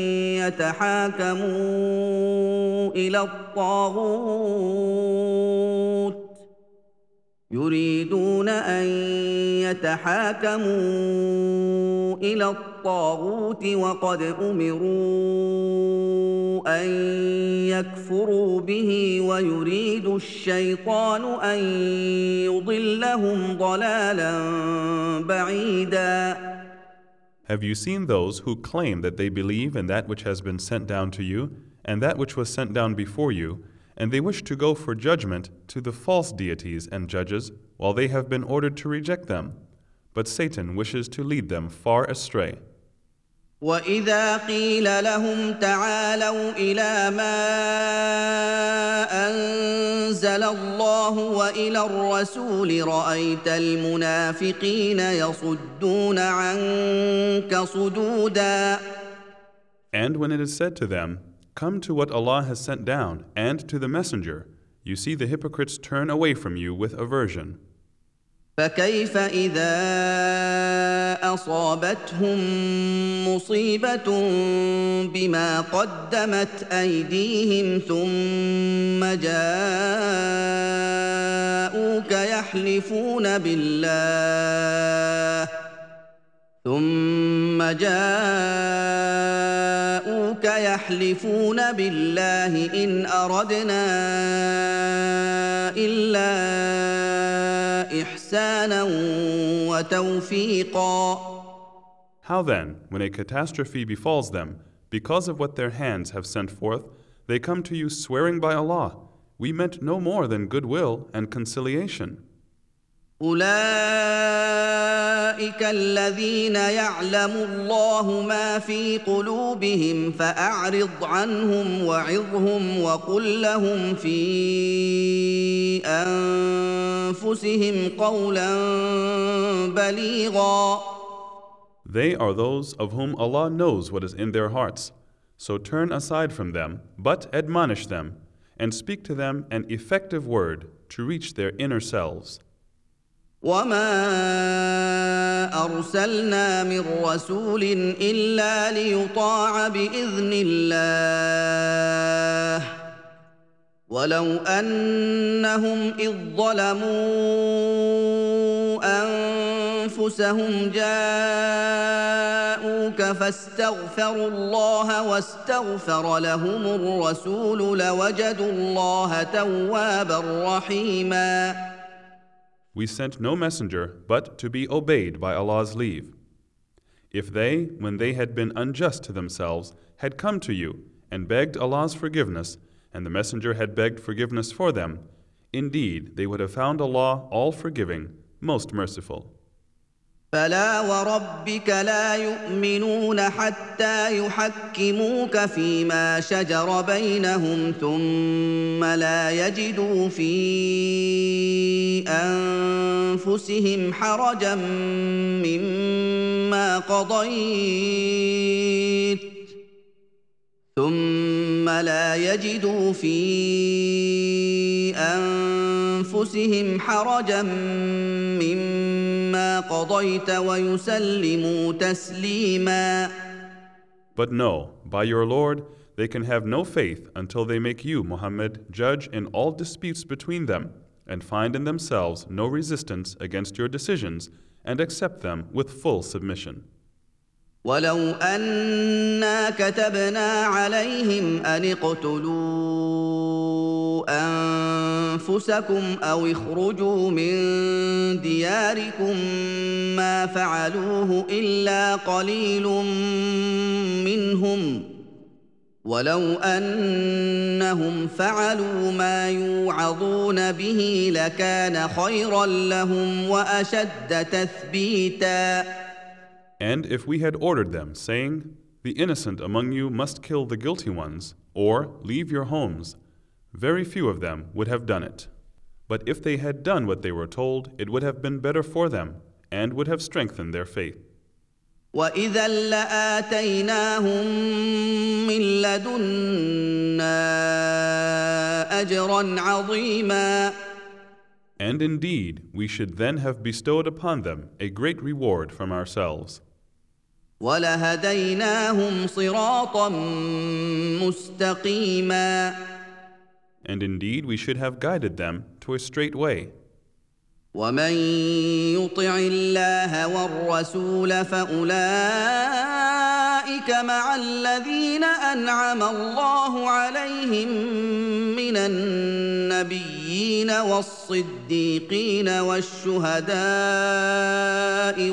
يتحاكموا إلى الطاغوت يريدون أن يتحاكموا إلى الطاغوت وقد أمروا أن يكفروا به ويريد الشيطان أن يضلهم ضلالا بعيدا. Have you seen those who claim that they believe in that which has been sent down to you and that which was sent down before you, and they wish to go for judgment to the false deities and judges, while they have been ordered to reject them? But Satan wishes to lead them far astray. وَإِذَا قِيلَ لَهُمْ تَعَالَوْا إِلَى مَا أَنزَلَ اللَّهُ وَإِلَى الرَّسُولِ رَأَيْتَ الْمُنَافِقِينَ يَصُدُّونَ عَنكَ صُدُودًا. And when it is said to them, "Come to what Allah has sent down, and to the Messenger," you see the hypocrites turn away from you with aversion. فكيف إذا أصابتهم مصيبة بما قدمت أيديهم ثم جاءوك يحلفون بالله ثم جاءوك يحلفون بالله إن أردنا إلا إحسانا وتوفيقا. How then, when a catastrophe befalls them, because of what their hands have sent forth, they come to you swearing by Allah, We meant no more than goodwill and conciliation. أولئك الذين يعلم الله ما في قلوبهم فأعرض عنهم وعظهم وقل لهم في أنفسهم قولا بليغا. They are those of whom Allah knows what is in their hearts. So turn aside from them, but admonish them, and speak to them an effective word to reach their inner selves. وما أرسلنا من رسول إلا ليطاع بإذن الله ولو أنهم إذ ظلموا أنفسهم جاءوك فاستغفروا الله واستغفر لهم الرسول لوجدوا الله توابا رحيما. We sent no messenger but to be obeyed by Allah's leave. If they, when they had been unjust to themselves, had come to you and begged Allah's forgiveness, and the messenger had begged forgiveness for them, indeed they would have found Allah all-forgiving, most merciful. فلا وربك لا يؤمنون حتى يحكموك فيما شجر بينهم ثم لا يجدوا في أنفسهم حرجا مما قضيت ثم لا يجدوا في أنفسهم حرجا مما قضيت ويسلموا تسليما. But no, by your Lord, they can have no faith until they make you, Muhammad, judge in all disputes between them, and find in themselves no resistance against your decisions, and accept them with full submission. ولو أنا كتبنا عليهم أن اقتلوا أنفسكم أو اخرجوا من دياركم ما فعلوه إلا قليل منهم ولو أنهم فعلوا ما يوعظون به لكان خيرا لهم وأشد تثبيتا. And if we had ordered them, saying, the innocent among you must kill the guilty ones, or leave your homes, very few of them would have done it. But if they had done what they were told, it would have been better for them, and would have strengthened their faith. وَإِذًا لَآتَيْنَاهُم مِّن لَّدُنَّا أَجْرًا عَظِيمًا. And indeed, we should then have bestowed upon them a great reward from ourselves. وَلَهَدَيْنَاهُمْ صِرَاطًا مُّسْتَقِيمًا. And indeed, we should have guided them to a straight way. وَمَن يُطِعِ اللَّهَ وَالرَّسُولَ فَأُولَٰئِكَ مَعَ الَّذِينَ أَنْعَمَ اللَّهُ عَلَيْهِم مِّنَ النَّبِيِّينَ وَالصِّدِّيقِينَ وَالشُّهَدَاءِ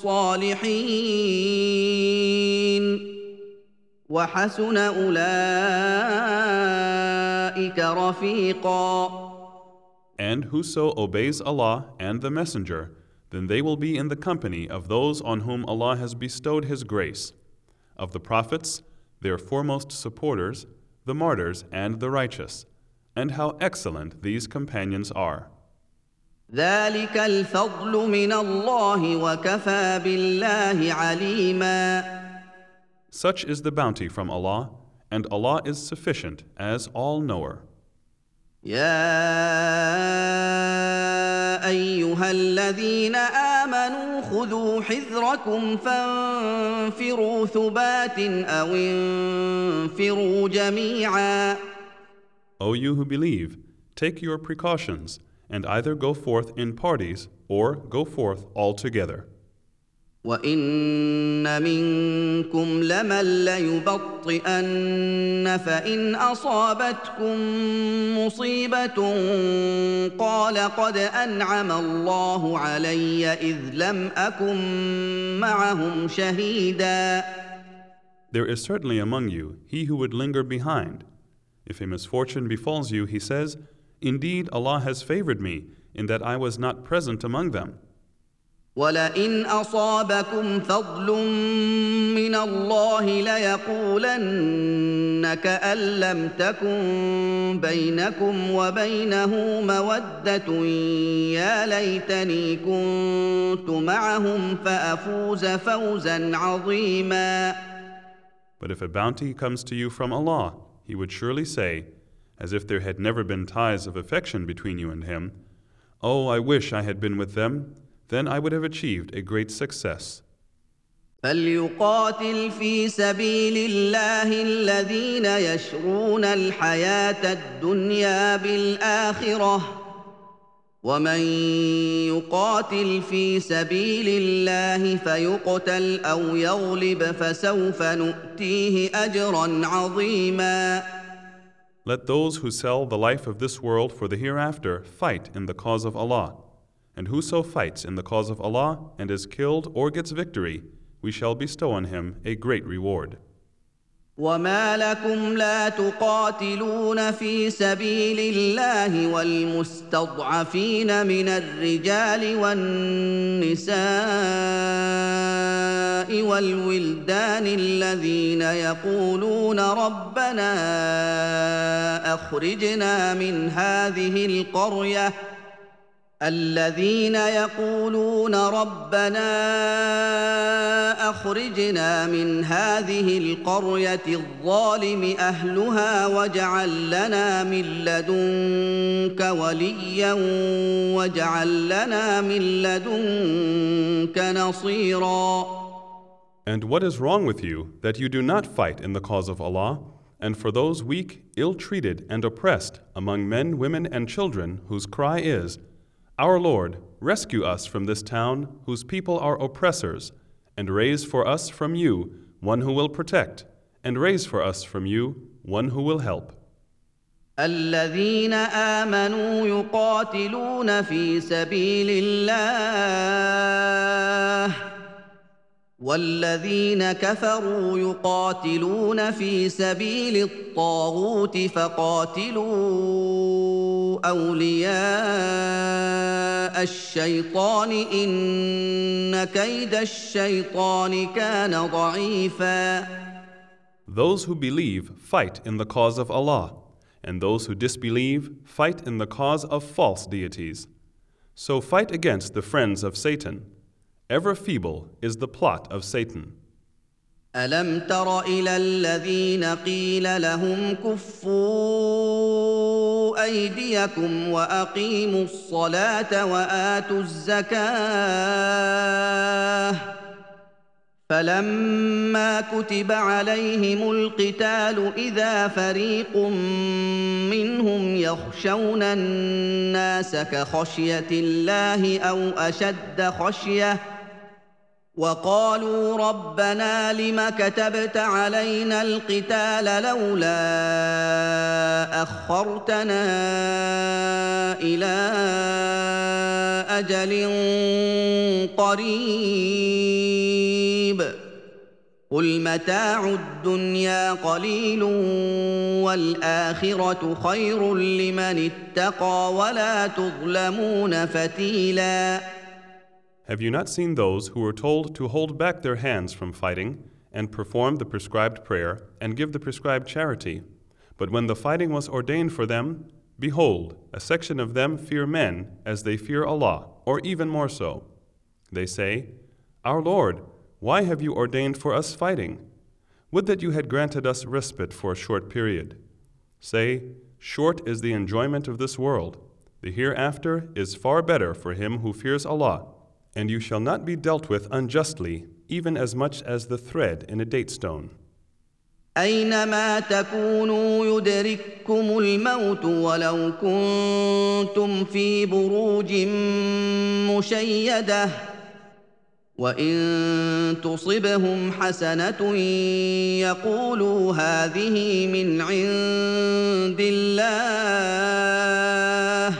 وَالصَّالِحِينَ وَحَسُنَ أُولَٰئِكَ رَفِيقًا. And whoso obeys Allah and the Messenger, then they will be in the company of those on whom Allah has bestowed His grace, of the prophets, their foremost supporters, the martyrs and the righteous, and how excellent these companions are. ذلك الفضل من الله وكفى بالله عليما. Such is the bounty from Allah, and Allah is sufficient as all-knower. يا أيها الذين آمنوا خذوا حذركم فانفروا ثبات أو انفروا جميعا. O you who believe, take your precautions, and either go forth in parties or go forth altogether. وَإِنَّ مِنكُمْ لَمَن لَّيُبَطِّئَنَّ فَإِنْ أَصَابَتْكُم مُّصِيبَةٌ قَالَ قَدْ أَنْعَمَ اللَّهُ عَلَيَّ إِذْ لَمْ أَكُن مَّعَهُمْ شَهِيدًا. There is certainly among you he who would linger behind. If a misfortune befalls you, he says, Indeed, Allah has favored me in that I was not present among them. ولئن أصابكم فضل من الله ليقولن كأن لم تكن بينكم وبينه مودة يا ليتني كنت معهم فأفوز فوزا عظيما. But if a bounty comes to you from Allah, He would surely say, as if there had never been ties of affection between you and Him, "Oh, I wish I had been with them, then I would have achieved a great success." فليقاتل في سبيل الله الذين يشرون الحياة الدنيا بالآخرة ومن يقاتل في سبيل الله فيقتل أو يغلب فسوف نؤتيه أجرا عظيما. Let those who sell the life of this world for the hereafter fight in the cause of Allah. And whoso fights in the cause of Allah and is killed or gets victory, we shall bestow on him a great reward. وما لكم لا تقاتلون في سبيل الله والمستضعفين من الرجال والنساء والولدان الذين يقولون ربنا أخرجنا من هذه القرية الذين يقولون ربنا أخرجنا من هذه القرية الظالم أهلها واجعل لنا من لدنك وليا واجعل لنا من لدنك نصيرا. And what is wrong with you that you do not fight in the cause of Allah, and for those weak, ill-treated, and oppressed among men, women, and children whose cry is, "Our Lord, rescue us from this town whose people are oppressors, and raise for us from you one who will protect, and raise for us from you one who will help." الذين آمنوا يقاتلون في سبيل الله والذين كفروا يقاتلون في سبيل الطاغوت فقاتلوا أولياء الشيطان إن كيد الشيطان كان ضعيفا. Those who believe fight in the cause of Allah, and those who disbelieve fight in the cause of false deities. So fight against the friends of Satan. Ever feeble is the plot of Satan. ألم تر إلى الذين قيل لهم كفوا أيديكم وأقيموا الصلاة وآتوا الزكاة فلما كتب عليهم القتال إذا فريق منهم يخشون الناس كخشية الله أو أشد خشية وقالوا ربنا لم كتبت علينا القتال لولا أخرتنا إلى أجل قريب قل متاع الدنيا قليل والآخرة خير لمن اتقى ولا تظلمون فتيلاً. Have you not seen those who were told to hold back their hands from fighting and perform the prescribed prayer and give the prescribed charity? But when the fighting was ordained for them, behold, a section of them fear men as they fear Allah, or even more so. They say, "Our Lord, why have you ordained for us fighting? Would that you had granted us respite for a short period." Say, short is the enjoyment of this world. The hereafter is far better for him who fears Allah. And you shall not be dealt with unjustly, even as much as the thread in a date stone. أينما تكونوا يدرككم الموت ولو كنتم في بروج مشيدة وإن تصبهم حسنة يقولوا هذه من عند الله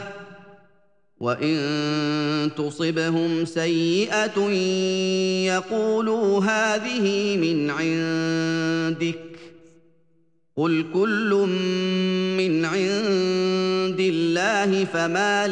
وإن تصبهم سيئة يقولوا هذه من عندك قل كل من عند عند الله فما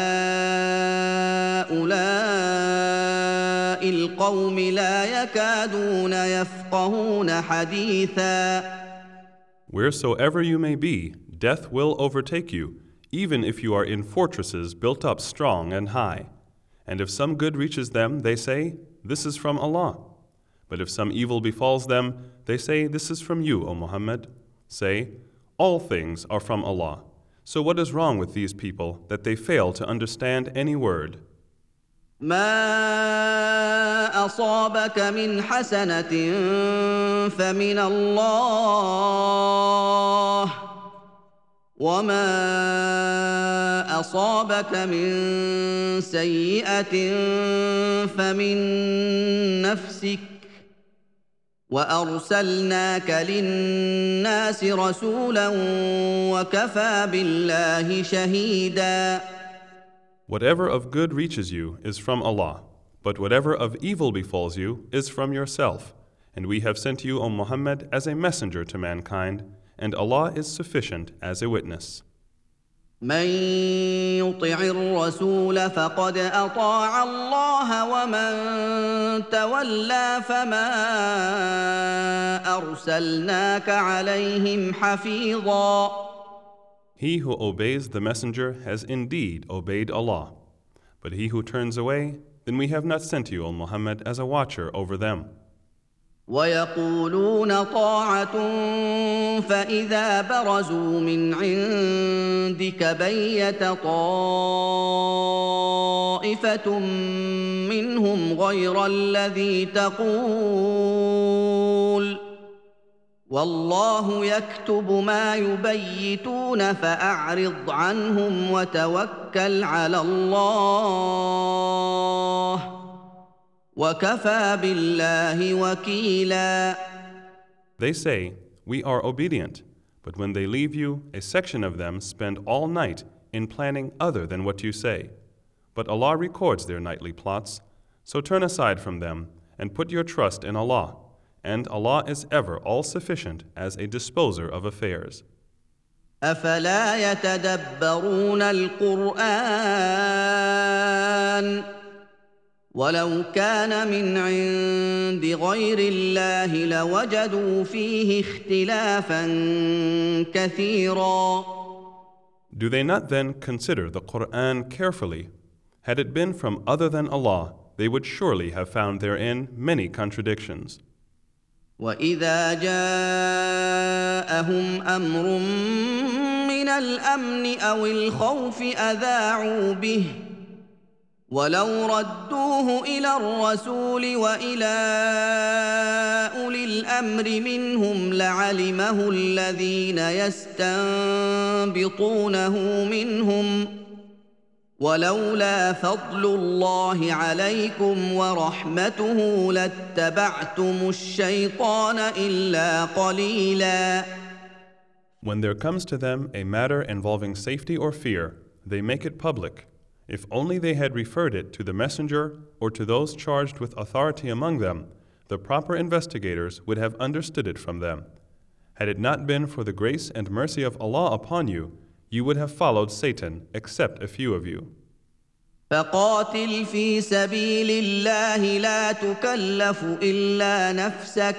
لهؤلاء القوم لا يكادون يفقهون حديثا. Wheresoever you may be, death will overtake you, even if you are in fortresses built up strong and high. And if some good reaches them, they say, "This is from Allah." But if some evil befalls them, they say, "This is from you, O Muhammad." Say, "All things are from Allah." So what is wrong with these people that they fail to understand any word? ما أصابك من حسنة فمن الله وما أصابك من سيئة فمن نفسك وأرسلناك للناس رسولا وكفى بالله شهيدا. Whatever of good reaches you is from Allah, but whatever of evil befalls you is from yourself. And we have sent you, O Muhammad, as a messenger to mankind, and Allah is sufficient as a witness. من يطع الرسول فقد أطاع الله ومن تولى فما أرسلناك عليهم حفيظا. He who obeys the messenger has indeed obeyed Allah. But he who turns away, then we have not sent you, O Muhammad, as a watcher over them. ويقولون طاعة فإذا برزوا من عندك بيت طائفة منهم غير الذي تقول والله يكتب ما يبيتون فأعرض عنهم وتوكل على الله وَكَفَى بِاللَّهِ وَكِيلًا. They say, "We are obedient," but when they leave you, a section of them spend all night in planning other than what you say. But Allah records their nightly plots, so turn aside from them and put your trust in Allah, and Allah is ever all-sufficient as a disposer of affairs. أَفَلَا يَتَدَبَّرُونَ الْقُرْآنَ ولو كان من عند غير الله لوجدوا فيه اختلافا كثيرا. Do they not then consider the Qur'an carefully? Had it been from other than Allah, they would surely have found therein many contradictions. وإذا جاءهم أمر من الأمن أو الخوف أذاعوا به ولو ردوه إلى الرسول وإلى أولي الأمر منهم لعلمه الذين يستنبطونه منهم ولولا فضل الله عليكم ورحمته لاتبعتم الشيطان إلا قليلا. When there comes to them a matter involving safety or fear, they make it public. If only they had referred it to the messenger or to those charged with authority among them, the proper investigators would have understood it from them. Had it not been for the grace and mercy of Allah upon you, you would have followed Satan, except a few of you. فقاتل في سبيل الله لا تكلف إلا نفسك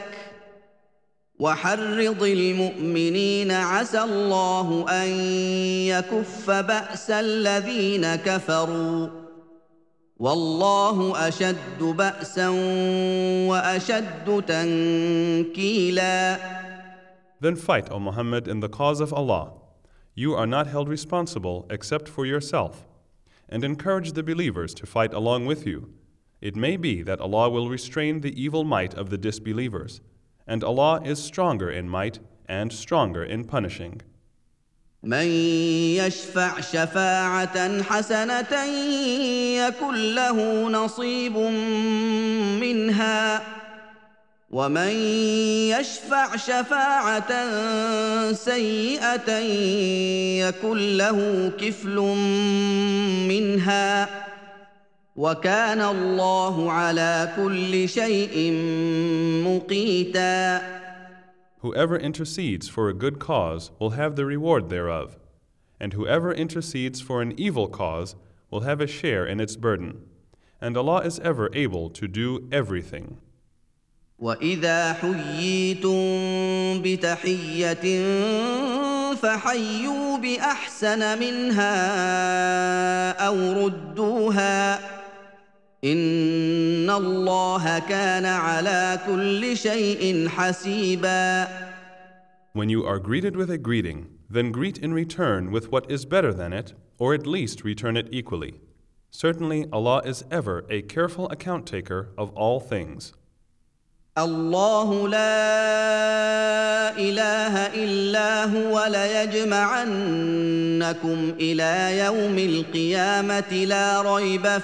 وحرض المؤمنين عسى الله أن يكف بأس الذين كفروا والله أشد بأسا وأشد تنكيلا. Then fight, O Muhammad, in the cause of Allah. You are not held responsible except for yourself, and encourage the believers to fight along with you. It may be that Allah will restrain the evil might of the disbelievers, and Allah is stronger in might and stronger in punishing. من يشفع شفاعة حسنة يكن له نصيب منها ومن يشفع شفاعة سيئة يكن له كفل منها وكان الله على كل شيء مقيتا. Whoever intercedes for a good cause will have the reward thereof, And whoever intercedes for an evil cause will have a share in its burden. And Allah is ever able to do everything. وَإِذَا حُيِّيتُم بِتَحِيَّةٍ فَحَيُّوا بِأَحْسَنَ مِنْهَا أَوْ رُدُّوهَا إِنَّ اللَّهَ كَانَ عَلَى كُلِّ شَيْءٍ حَسِيبًا. When you are greeted with a greeting, then greet in return with what is better than it, or at least return it equally. Certainly Allah is ever a careful account taker of all things. الله لا إله إلا هو ليجمعنكم إلى يوم القيامة لا ريب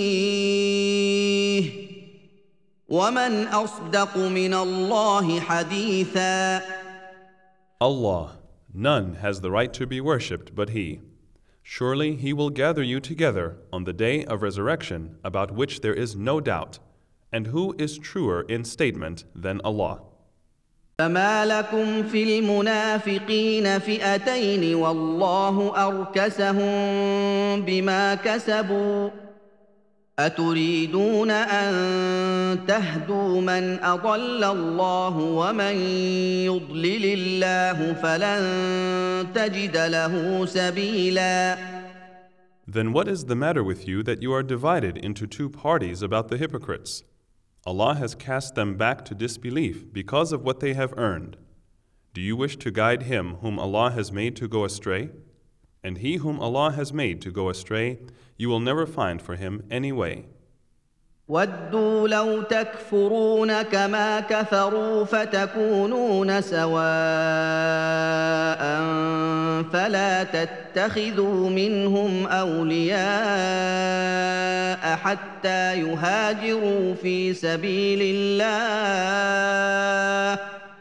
فيه ومن أصدق من الله حديثا. Allah, none has the right to be worshipped but He. Surely He will gather you together on the day of resurrection about which there is no doubt. And who is truer in statement than Allah? فما لكم في المنافقين فئتين والله أركسهم بما كسبوا أتريدون أن تهدوا من أضل الله ومن يضلل الله فلن تجد له سبيلا. Then what is the matter with you that you are divided into two parties about the hypocrites? Allah has cast them back to disbelief because of what they have earned. Do you wish to guide him whom Allah has made to go astray? And he whom Allah has made to go astray, you will never find for him any way. وَدُّوا لَوْ تَكْفُرُونَ كَمَا كَفَرُوا فَتَكُونُونَ سَوَاءً فَلَا تَتَّخِذُوا مِنْهُمْ أَوْلِيَاءَ حَتَّى يُهَاجِرُوا فِي سَبِيلِ اللَّهِ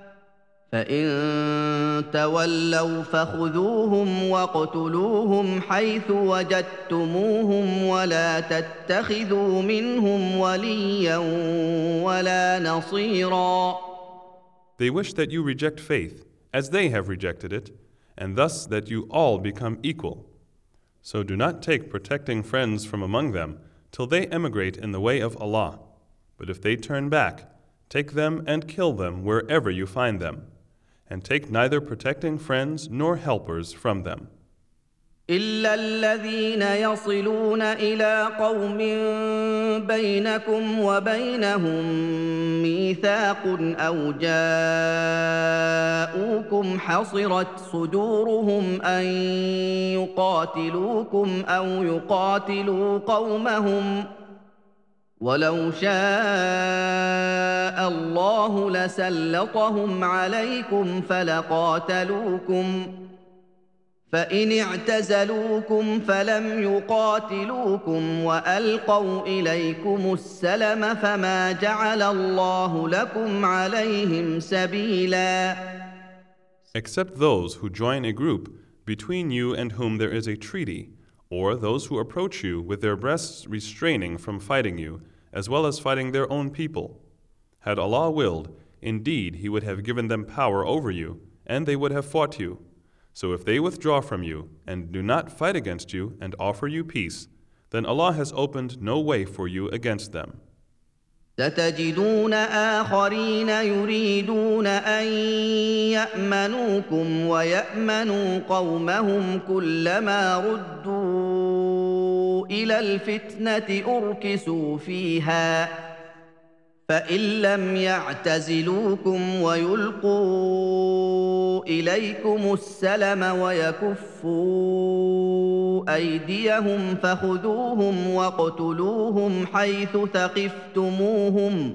فَإِن تَوَلَّوْا فَخُذُوهُمْ وَاقْتُلُوهُمْ حَيْثُ وَجَدتُّمُوهُمْ وَلَا تَتَّخِذُوا مِنْهُمْ وَلِيًّا وَلَا نَصِيرًا. They wish that you reject faith, as they have rejected it, and thus that you all become equal. So do not take protecting friends from among them till they emigrate in the way of Allah. But if they turn back, take them and kill them wherever you find them. And take neither protecting friends nor helpers from them. إلا الذين يصلون إلى قوم بينكم وبينهم ميثاق أو جاءوكم حصرت صدورهم أن يقاتلوكم أو يقاتلوا قومهم ولو شاء الله لسلطهم عليكم فلقاتلوكم فإن اعتزلوكم فلم يقاتلوكم وألقوا إليكم السلم فما جعل الله لكم عليهم سبيلا. Except those who join a group between you and whom there is a treaty, or those who approach you with their breasts restraining from fighting you, as well as fighting their own people. Had Allah willed, indeed He would have given them power over you, and they would have fought you. So if they withdraw from you, and do not fight against you, and offer you peace, then Allah has opened no way for you against them. ستجدون آخرين يريدون أن يأمنوكم ويأمنوا قومهم كلما ردوا إلى الفتنة أركسوا فيها فإن لم يعتزلوكم ويلقوا إليكم السلم ويكفوا أيديهم فخذوهم واقتلوهم حيث ثقفتموهم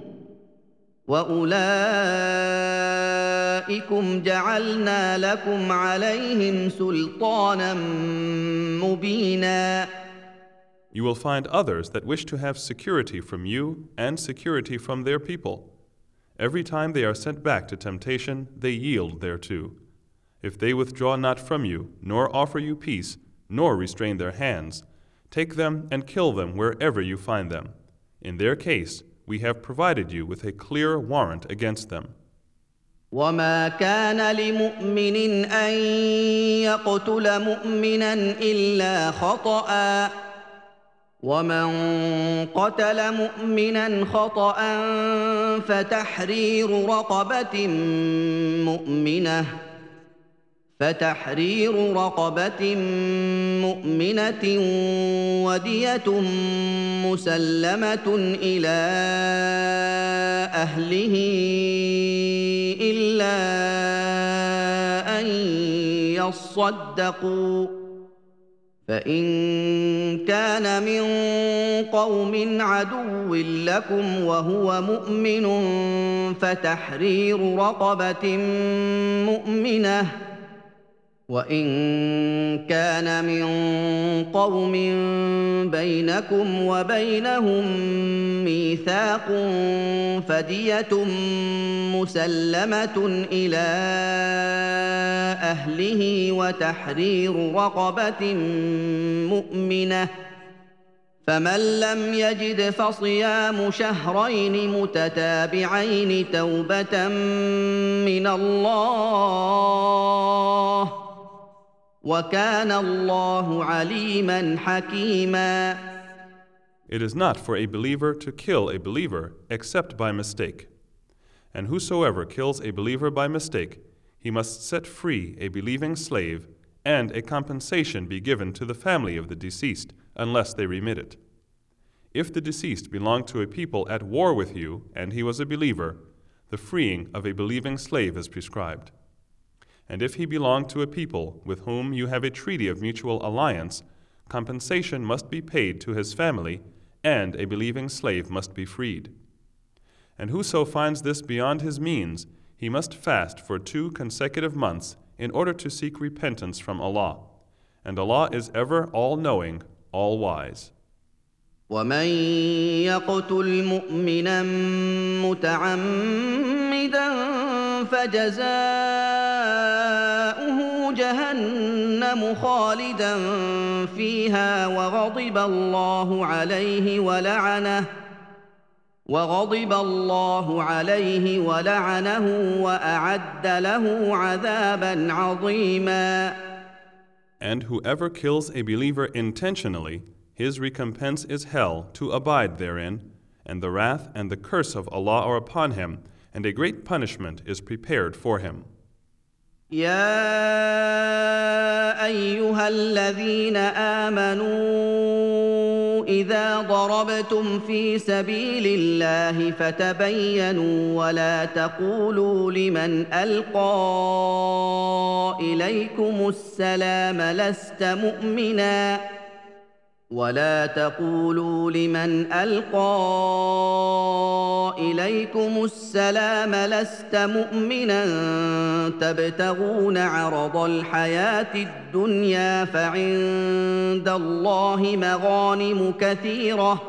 وأولئكم جعلنا لكم عليهم سلطانا مبينا. You will find others that wish to have security from you and security from their people. Every time they are sent back to temptation, they yield thereto. If they withdraw not from you, nor offer you peace, nor restrain their hands, take them and kill them wherever you find them. In their case, we have provided you with a clear warrant against them. وما كان لمؤمن ان يقتل مؤمنا الا خطأ ومن قتل مؤمنا خطأ فتحرير رقبة مؤمنة فتحرير رقبة مؤمنة ودية مسلمة إلى أهله إلا أن يصدقوا فإن كان من قوم عدو لكم وهو مؤمن فتحرير رقبة مؤمنة وإن كان من قوم بينكم وبينهم ميثاق فدية مسلمة إلى أهله وتحرير رقبة مؤمنة فمن لم يجد فصيام شهرين متتابعين توبة من الله وَكَانَ اللَّهُ عَلِيمًا حَكِيمًا. It is not for a believer to kill a believer except by mistake. And whosoever kills a believer by mistake, he must set free a believing slave, and a compensation be given to the family of the deceased, unless they remit it. If the deceased belonged to a people at war with you, and he was a believer, the freeing of a believing slave is prescribed. And if he belonged to a people with whom you have a treaty of mutual alliance, compensation must be paid to his family, and a believing slave must be freed. And whoso finds this beyond his means, he must fast for two consecutive months in order to seek repentance from Allah. And Allah is ever all-knowing, all-wise. ومن يقتل مؤمنا متعمدا فجزاؤه جهنم خالدا فيها وغضب الله عليه ولعنه وغضب الله عليه ولعنه وأعد له عذابا عظيما. And whoever kills a believer intentionally, his recompense is hell to abide therein, and the wrath and the curse of Allah are upon him, and a great punishment is prepared for him. يا أيها الذين آمنوا إذا ضربتم في سبيل الله فتبينوا ولا تقولوا لمن ألقى إليكم السلام لست مؤمنا ولا تقولوا لمن ألقى إليكم السلام لست مؤمنا تبتغون عرض الحياة الدنيا فعند الله مغانم كثيرة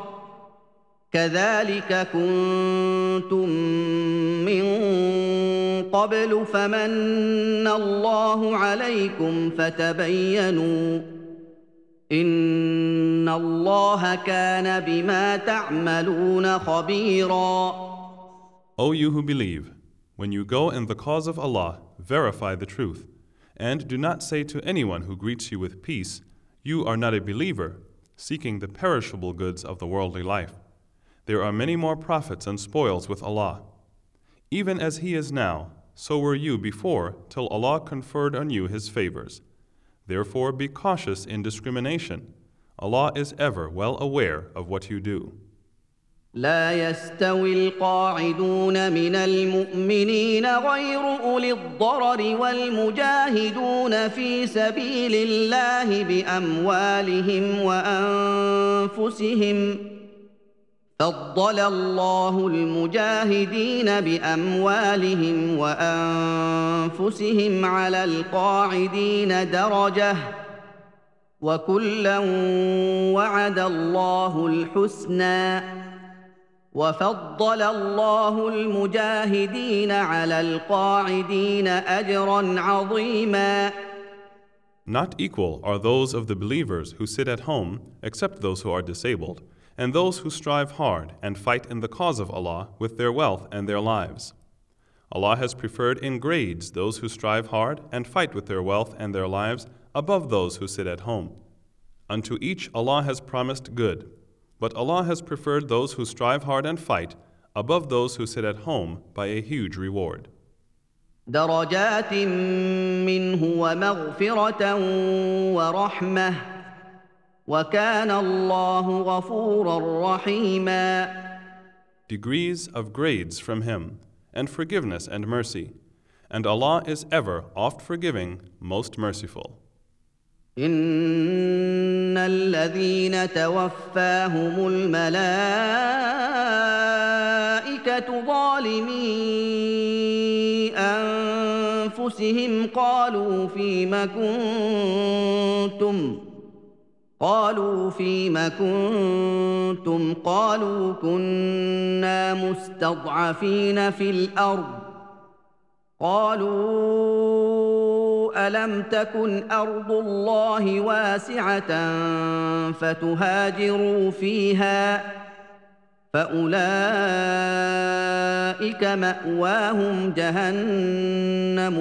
كذلك كنتم من قبل فمن الله عليكم فتبينوا إن الله كان بما تعملون خبيرا. O you who believe, when you go in the cause of Allah, verify the truth, and do not say to anyone who greets you with peace, you are not a believer, seeking the perishable goods of the worldly life. There are many more profits and spoils with Allah. Even as He is now, so were you before, till Allah conferred on you His favors. Therefore be cautious in discrimination. Allah is ever well aware of what you do. لا يستوي القاعدون من المؤمنين غير أولي الضرر والمجاهدون في سبيل الله بأموالهم وأنفسهم فضل الله المجاهدين بأموالهم وأنفسهم على القاعدين درجة وكلا وعد الله الحسنى وفضل الله المجاهدين على القاعدين أجرا عظيما. Not equal are those of the believers who sit at home, except those who are disabled, and those who strive hard and fight in the cause of Allah with their wealth and their lives. Allah has preferred in grades those who strive hard and fight with their wealth and their lives above those who sit at home. Unto each Allah has promised good, but Allah has preferred those who strive hard and fight above those who sit at home by a huge reward. درجات منه ومغفرة ورحمة وكان الله غفورا رحيما. Degrees of grades from Him, and forgiveness and mercy, and Allah is ever oft forgiving, most merciful. إن الذين توفاهم الملائكة ظالمي أنفسهم قالوا فيم كنتم قالوا فيم كنتم قالوا كنا مستضعفين في الأرض قالوا ألم تكن أرض الله واسعة فتهاجروا فيها فأولئك مأواهم جهنم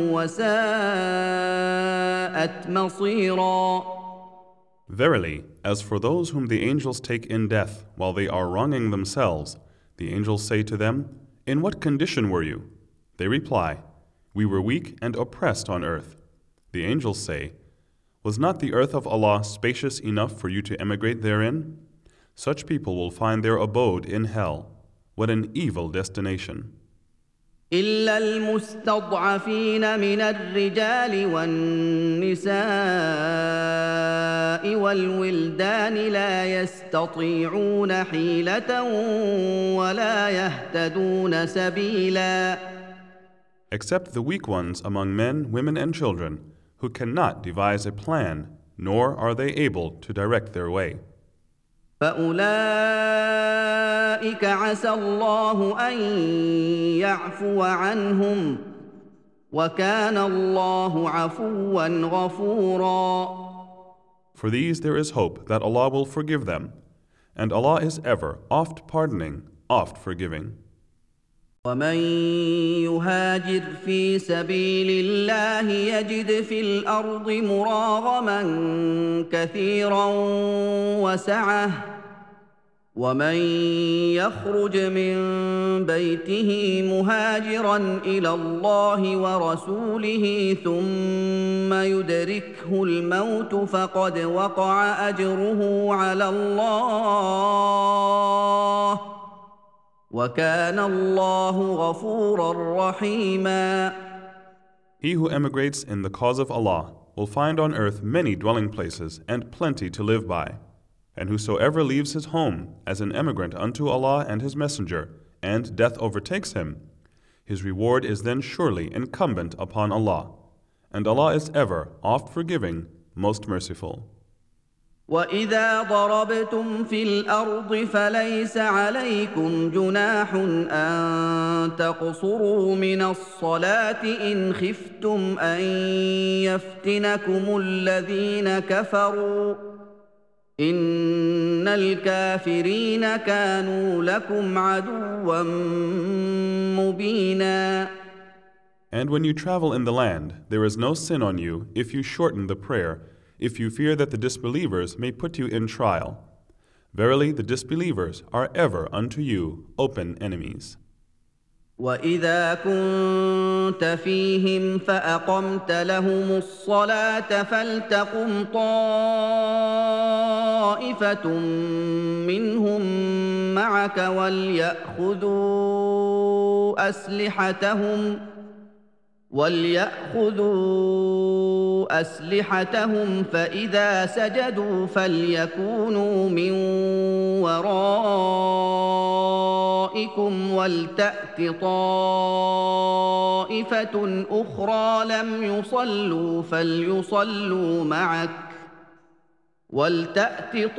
وساءت مصيرا. Verily, as for those whom the angels take in death while they are wronging themselves, the angels say to them, "In what condition were you?" They reply, "We were weak and oppressed on earth." The angels say, "Was not the earth of Allah spacious enough for you to emigrate therein?" Such people will find their abode in hell. What an evil destination. إلا المستضعفين من الرجال والنساء والولدان لا يستطيعون حيلة ولا يهتدون سبيلا. Except the weak ones among men, women, and children, who cannot devise a plan, nor are they able to direct their way. فأولئك عسى الله أن يعفو عنهم وكان الله عفوا غفورا. For these there is hope that Allah will forgive them, and Allah is ever oft pardoning, oft forgiving. ومن يهاجر في سبيل الله يجد في الأرض مراغما كثيرا وسعة ومن يخرج من بيته مهاجرا إلى الله ورسوله ثم يدركه الموت فقد وقع أجره على الله وَكَانَ اللَّهُ غَفُورًا رَحِيمًا. He who emigrates in the cause of Allah will find on earth many dwelling places and plenty to live by. And whosoever leaves his home as an emigrant unto Allah and His Messenger, and death overtakes him, his reward is then surely incumbent upon Allah. And Allah is ever oft forgiving, most merciful. وَإِذَا ضَرَبْتُمْ فِي الْأَرْضِ فَلَيْسَ عَلَيْكُمْ جُنَاحٌ أَن تَقْصُرُوا مِنَ الصَّلَاةِ إِنْ خِفْتُمْ أَن يَفْتِنَكُمُ الَّذِينَ كَفَرُوا إِنَّ الْكَافِرِينَ كَانُوا لَكُمْ عَدُوًّا مُبِينًا. And when you travel in the land, there is no sin on you if you shorten the prayer, if you fear that the disbelievers may put you in trial. Verily, the disbelievers are ever unto you open enemies. وَإِذَا كُنْتَ فِيهِمْ فَأَقَمْتَ لَهُمُ الصَّلَاةَ فَلْتَقُمْ طَائِفَةٌ مِّنْهُمْ مَعَكَ وَلْيَأْخُذُوا أَسْلِحَتَهُمْ وَلْيَأْخُذُوا أَسْلِحَتَهُمْ فَإِذَا سَجَدُوا فَلْيَكُونُوا مِنْ وَرَائِكُمْ وَلْتَأْتِ طَائِفَةٌ أُخْرَى لَمْ يُصَلُّوا فَلْيُصَلُّوا مَعَكَ وَلْتَأْتِ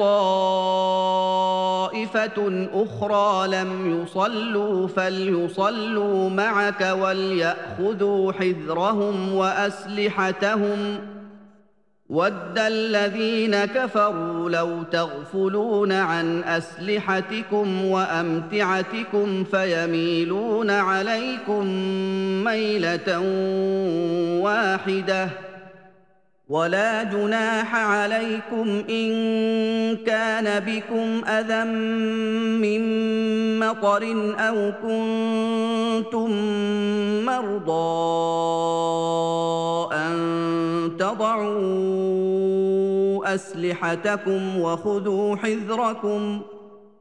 طَائِفَةٌ أُخْرَى لَمْ يُصَلُّوا فَلْيُصَلُّوا مَعَكَ وَلْيَأْخُذُوا حِذْرَهُمْ وَأَسْلِحَتَهُمْ وَدَّ الَّذِينَ كَفَرُوا لَوْ تَغْفُلُونَ عَنْ أَسْلِحَتِكُمْ وَأَمْتِعَتِكُمْ فَيَمِيلُونَ عَلَيْكُمْ مَيْلَةً وَاحِدَةً وَلَا جُنَاحَ عَلَيْكُمْ إِن كَانَ بِكُمْ أَذًى مِّن مَّطَرٍ أَوْ كُنتُم مَّرْضَىٰ أَن تَضَعُوا أَسْلِحَتَكُمْ وَخُذُوا حِذْرَكُمْ ۗ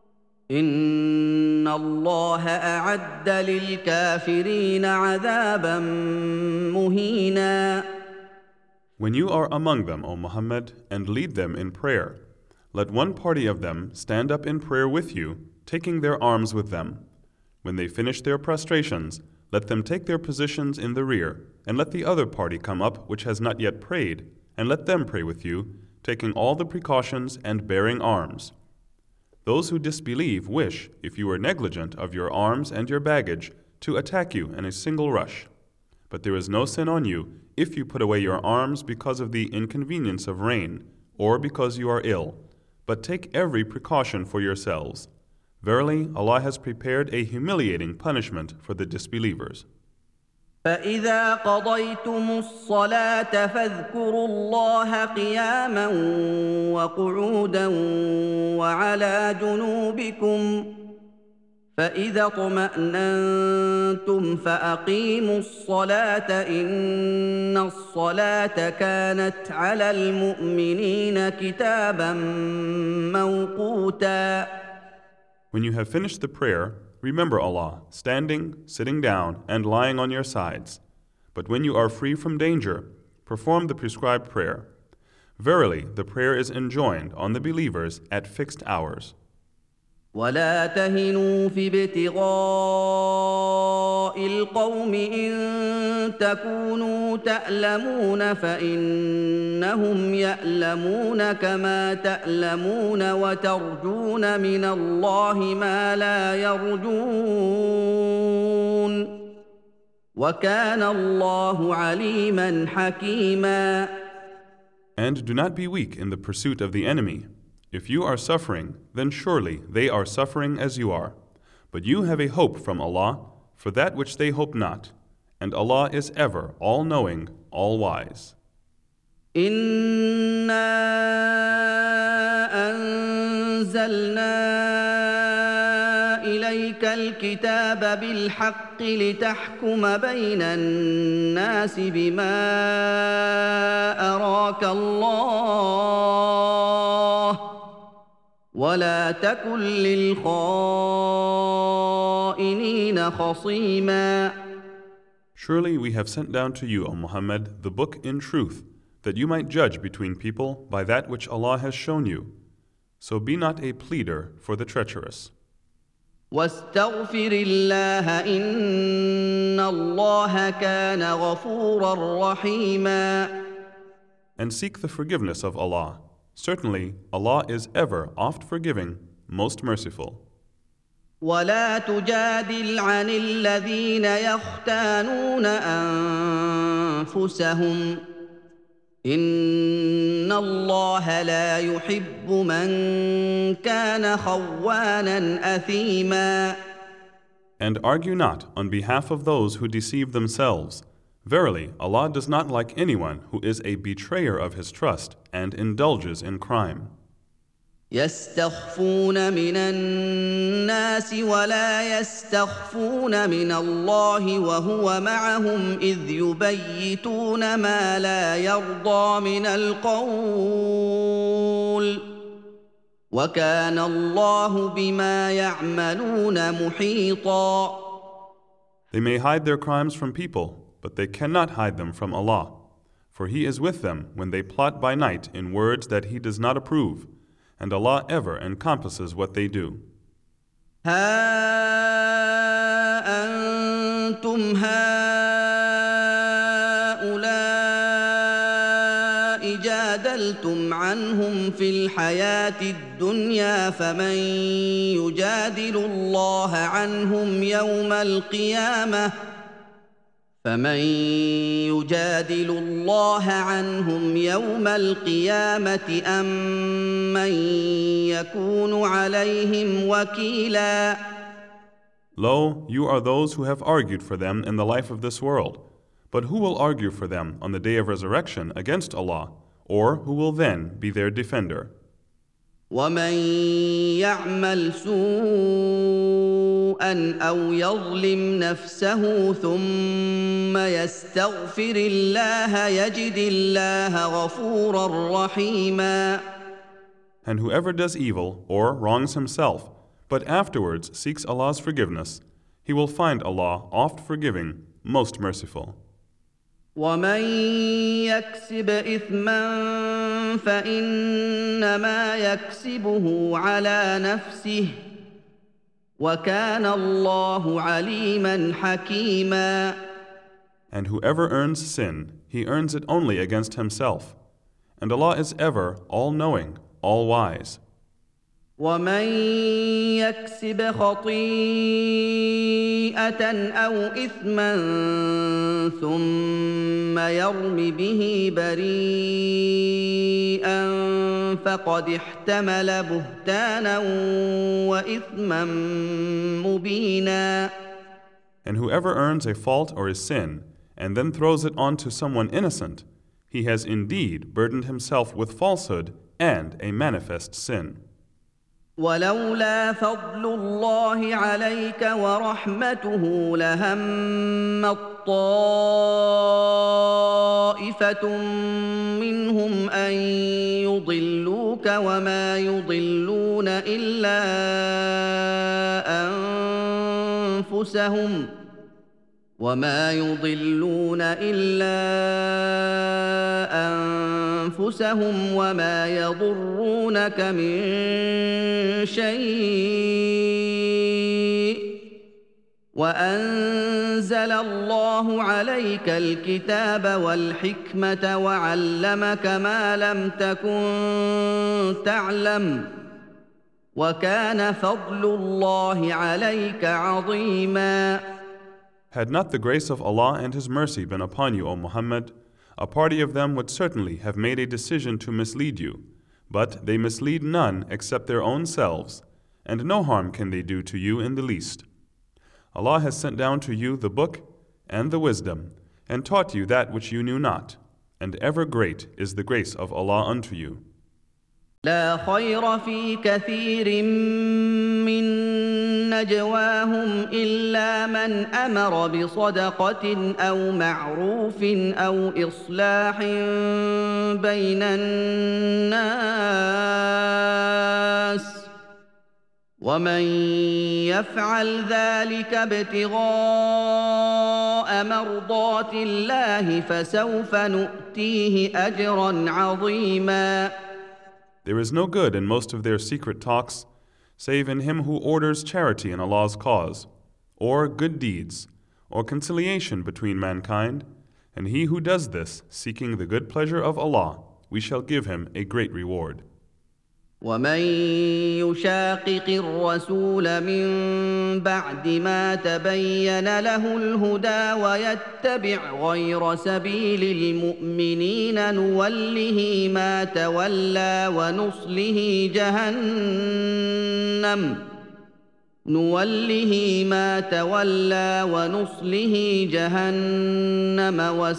إِنَّ اللَّهَ أَعَدَّ لِلْكَافِرِينَ عَذَابًا مُّهِينًا. When you are among them, O Muhammad, and lead them in prayer, let one party of them stand up in prayer with you, taking their arms with them. When they finish their prostrations, let them take their positions in the rear, and let the other party come up which has not yet prayed, and let them pray with you, taking all the precautions and bearing arms. Those who disbelieve wish, if you are negligent of your arms and your baggage, to attack you in a single rush. But there is no sin on you if you put away your arms because of the inconvenience of rain, or because you are ill, but take every precaution for yourselves. Verily, Allah has prepared a humiliating punishment for the disbelievers. فَإِذَا قَضَيْتُمُ الصَّلَاةَ فَاذْكُرُوا اللَّهَ قِيَامًا وَقُعُودًا وَعَلَىٰ جُنُوبِكُمْ ۚ فَإِذَا اطْمَأْنَنتُمْ فَأَقِيمُوا الصَّلَاةَ ۚ إِنَّ الصَّلَاةَ كَانَتْ عَلَى الْمُؤْمِنِينَ كِتَابًا مَّوْقُوتًا. When you have finished the prayer, remember Allah, standing, sitting down, and lying on your sides. But when you are free from danger, perform the prescribed prayer. Verily, the prayer is enjoined on the believers at fixed hours. وَلَا تَهِنُوا فِي ابْتِغَاءِ الْقَوْمِ إِن تَكُونُوا تَأْلَمُونَ فَإِنَّهُمْ يَأْلَمُونَ كَمَا تَأْلَمُونَ وَتَرْجُونَ مِنَ اللَّهِ مَا لَا يَرْجُونَ وَكَانَ اللَّهُ عَلِيمًا حَكِيمًا. And do not be weak in the pursuit of the enemy. If you are suffering, then surely they are suffering as you are. But you have a hope from Allah for that which they hope not. And Allah is ever all-knowing, all-wise. إِنَّا أَنزَلْنَا إِلَيْكَ الْكِتَابَ بِالْحَقِّ لِتَحْكُمَ بَيْنَ النَّاسِ بِمَا أَرَاكَ اللَّهُ وَلَا تَكُن لِّلْخَائِنِينَ خَصِيمًا. Surely we have sent down to you, O Muhammad, the book in truth, that you might judge between people by that which Allah has shown you. So be not a pleader for the treacherous. وَاسْتَغْفِرِ اللَّهَ إِنَّ اللَّهَ كَانَ غَفُورًا رَّحِيمًا. And seek the forgiveness of Allah. Certainly, Allah is ever oft forgiving, most merciful. وَلَا تُجَادِلْ عَنِ الَّذِينَ يَخْتَانُونَ أَنفُسَهُمْ ۚ إِنَّ اللَّهَ لَا يُحِبُّ مَن كَانَ خَوَّانًا أَثِيمًا. And argue not on behalf of those who deceive themselves. Verily, Allah does not like anyone who is a betrayer of his trust and indulges in crime. يَسْتَخْفُونَ مِنَ النَّاسِ وَلَا يَسْتَخْفُونَ مِنَ اللَّهِ وَهُوَ مَعَهُمْ إِذْ يُبَيِّتُونَ مَا لَا يَرْضَىٰ مِنَ الْقَوْلِ ۚ وَكَانَ اللَّهُ بِمَا يَعْمَلُونَ مُحِيطًا. They may hide their crimes from people, but they cannot hide them from Allah. For He is with them when they plot by night in words that He does not approve, and Allah ever encompasses what they do. ها أنتم هؤلاء جادلتم عنهم في الحياة الدنيا فمن يجادل الله عنهم يوم القيامة فمن يجادل الله عنهم يوم القيامة أم من يكون عليهم وكيلا. Lo, you are those who have argued for them in the life of this world. But who will argue for them on the day of resurrection against Allah, or who will then be their defender? ومن يعمل سوءا أو يظلم نفسه ثم يستغفر الله يجد الله غفورا رحيما. And whoever does evil or wrongs himself, but afterwards seeks Allah's forgiveness, he will find Allah oft forgiving, most merciful. ومن يكسب إثما فإنما يكسبه على نفسه وكان الله عليما حكيما. And whoever earns sin, he earns it only against himself. And Allah is ever all-knowing, all-wise. ومن يكسب خطيئة أو إثما ثم يرم به بريئا فقد احتمل بهتانا وإثما مبينا. And whoever earns a fault or a sin, and then throws it on to someone innocent, he has indeed burdened himself with falsehood and a manifest sin. ولولا فضل الله عليك ورحمته لهمت طائفة منهم أن يضلوك وما يضلون إلا أنفسهم وما يضلون إلا أنفسهم وما يضرونك من شيء وأنزل الله عليك الكتاب والحكمة وعلمك ما لم تكن تعلم وكان فضل الله عليك عظيما. Had not the grace of Allah and His mercy been upon you, O Muhammad, a party of them would certainly have made a decision to mislead you, but they mislead none except their own selves, and no harm can they do to you in the least. Allah has sent down to you the book and the wisdom, and taught you that which you knew not, and ever great is the grace of Allah unto you. لا خير في كثير من نجواهم إلا من أمر بصدقة أو معروف أو إصلاح بين الناس ومن يفعل ذلك ابتغاء مرضات الله فسوف نؤتيه أجرا عظيما. There is no good in most of their secret talks, save in him who orders charity in Allah's cause, or good deeds, or conciliation between mankind, and he who does this, seeking the good pleasure of Allah, we shall give him a great reward. ومن يشاقق الرسول من بعد ما تبين له الهدى ويتبع غير سبيل المؤمنين نوله ما تولى ونصله جهنم نوله ما تولى ونصله جهنم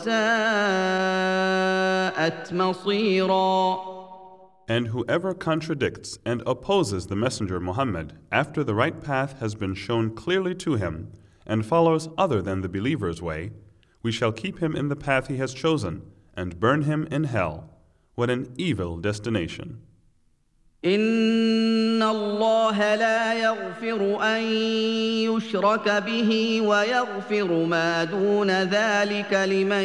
وساءت مصيرا. And whoever contradicts and opposes the Messenger Muhammad after the right path has been shown clearly to him and follows other than the believer's way, we shall keep him in the path he has chosen and burn him in hell. What an evil destination. إن الله لا يغفر أن يشرك به ويغفر ما دون ذلك لمن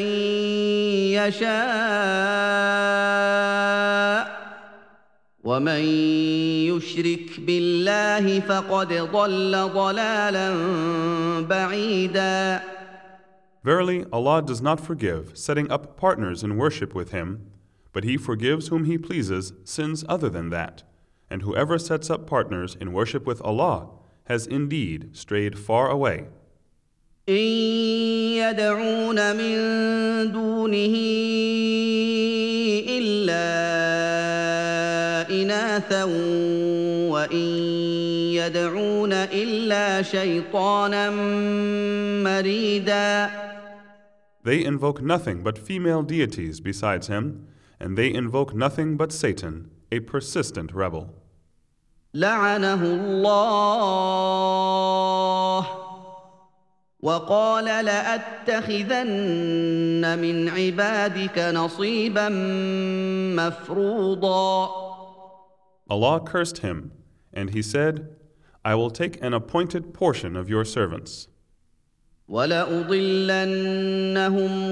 يشاء ومن يشرك بالله فقد ضل ضلالا بعيدا. Verily, Allah does not forgive setting up partners in worship with Him, but He forgives whom He pleases sins other than that, and whoever sets up partners in worship with Allah has indeed strayed far away. إن يدعون من دونه إلا إناثا وإن يدعون إلا شيطانا مريدا. They invoke nothing but female deities besides him, and they invoke nothing but Satan, a persistent rebel. لعنه الله وقال لأتخذن من عبادك نصيبا مفروضا. Allah cursed him, and he said, I will take an appointed portion of your servants. وَلَأُضِلَّنَّهُمْ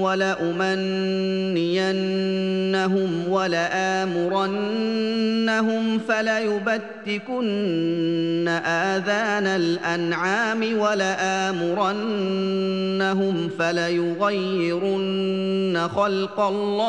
وَلَأُمَنِّيَنَّهُمْ وَلَآمُرَنَّهُمْ فَلَيُبَتِّكُنَّ آذَانَ الْأَنْعَامِ وَلَآمُرَنَّهُمْ فَلَيُغَيِّرُنَّ خَلْقَ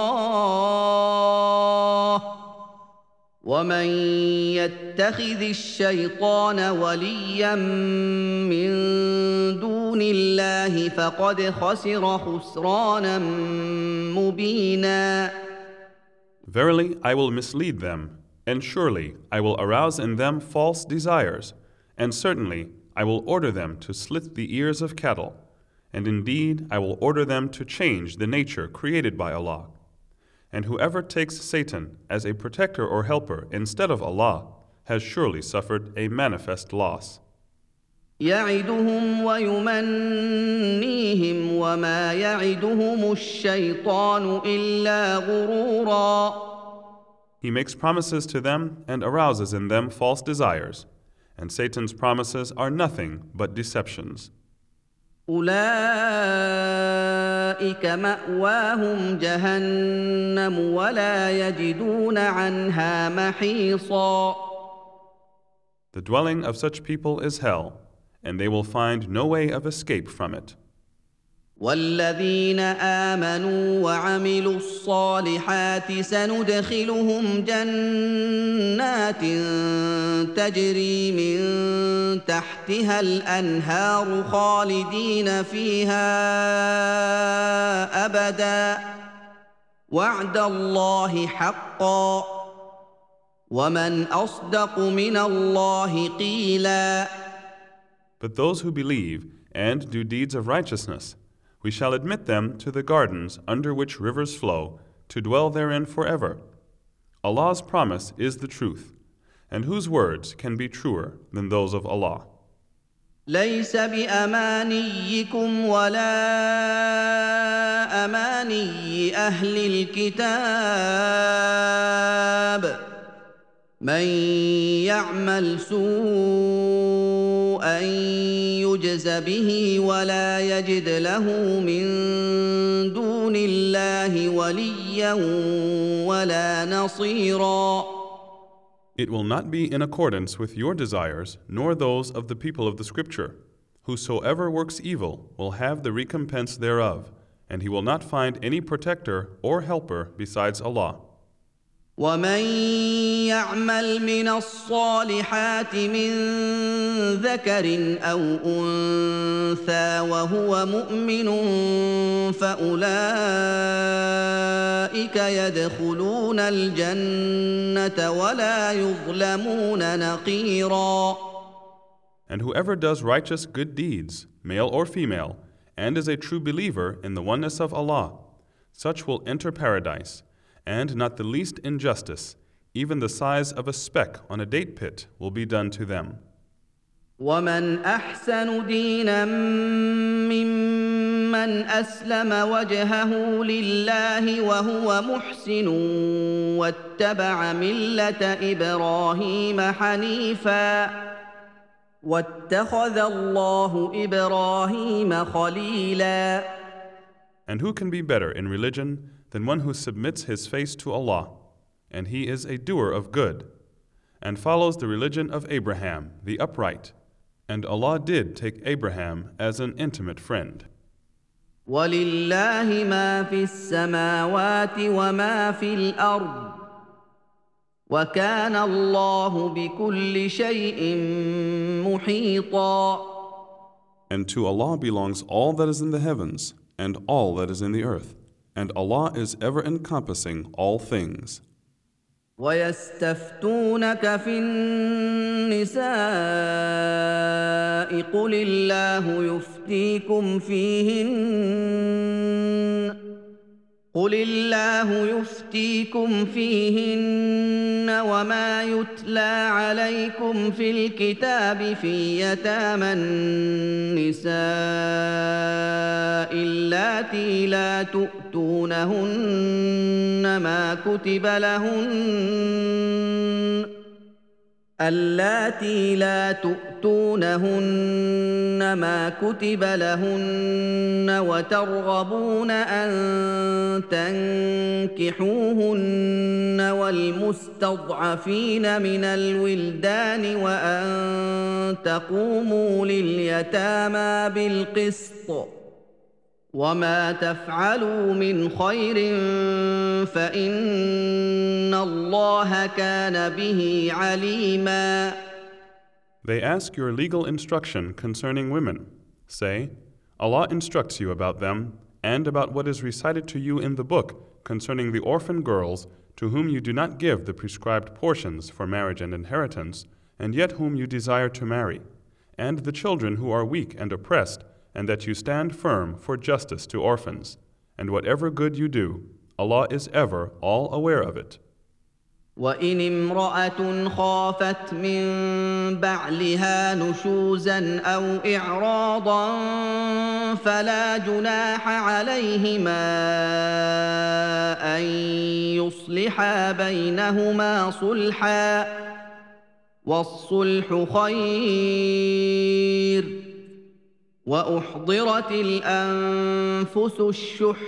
اللَّهِ ومن يتخذ الشيطان وليا من دون الله فقد خسر خسرانا مبينا. Verily, I will mislead them, and surely I will arouse in them false desires, and certainly I will order them to slit the ears of cattle, and indeed I will order them to change the nature created by Allah. And whoever takes Satan as a protector or helper instead of Allah has surely suffered a manifest loss. يعدهم ويمنيهم وما يعدهم الشيطان إلا غرورا. He makes promises to them and arouses in them false desires, and Satan's promises are nothing but deceptions. أولئك مأواهم جهنم ولا يجدون عنها محيصا. The dwelling of such people is hell, and they will find no way of escape from it. والذين آمنوا وعملوا الصالحات سندخلهم جنات تجري من تحتها الأنهار خالدين فيها أبدا وعد الله حقا ومن أصدق من الله قيلا. But those who believe and do deeds of righteousness, we shall admit them to the gardens under which rivers flow, to dwell therein forever. Allah's promise is the truth, and whose words can be truer than those of Allah? ليس بأمانيكم ولا أماني أهل الكتاب من يعمل سوءا يجز به ولا يجد له من دون الله وليا ولا نصيرا. It will not be in accordance with your desires, nor those of the people of the Scripture. Whosoever works evil will have the recompense thereof, and he will not find any protector or helper besides Allah. ومن يعمل من الصالحات من ذكر أو أنثى وهو مؤمن فأولئك يدخلون الجنة ولا يظلمون نقيرا. And whoever does righteous good deeds, male or female, and is a true believer in the oneness of Allah, such will enter paradise, and not the least injustice, even the size of a speck on a date pit, will be done to them. ومن أحسن دينا ممن أسلم وجهه لله وهو محسن واتبع ملة إبراهيم حنيفا واتخذ الله إبراهيم خليلا. And who can be better in religion than one who submits his face to Allah, and he is a doer of good, and follows the religion of Abraham, the upright, and Allah did take Abraham as an intimate friend. وَلِلَّهِ مَا فِي السَّمَاوَاتِ وَمَا فِي الْأَرْضِ وَكَانَ اللَّهُ بِكُلِّ شَيْءٍ مُحِيطًا. And to Allah belongs all that is in the heavens and all that is in the earth. And Allah is ever encompassing all things. ويستفتونك في النساء قل الله يفتيكم فيهن قل الله يفتيكم فيهن وما يتلى عليكم في الكتاب في يتامى النساء اللاتي لا تؤتونهن ما كتب لهن اللاتي لا تؤتونهن ما كتب لهن وترغبون أن تنكحوهن والمستضعفين من الولدان وأن تقوموا لليتامى بالقسط وما تفعلوا من خير فإن الله كان به عليما. They ask your legal instruction concerning women. Say, Allah instructs you about them and about what is recited to you in the book concerning the orphan girls to whom you do not give the prescribed portions for marriage and inheritance, and yet whom you desire to marry, and the children who are weak and oppressed, and that you stand firm for justice to orphans. And whatever good you do, Allah is ever all aware of it. وَإِنِ امْرَأَةٌ خَافَتْ مِنْ بَعْلِهَا نُشُوزًا أَوْ إِعْرَاضًا فَلَا جُنَاحَ عَلَيْهِمَا أَنْ يُصْلِحَا بَيْنَهُمَا صُلْحًا وَالصُّلْحُ خَيْرٌ وَأُحْضِرَتِ الْأَنفُسُ الشُّحَّ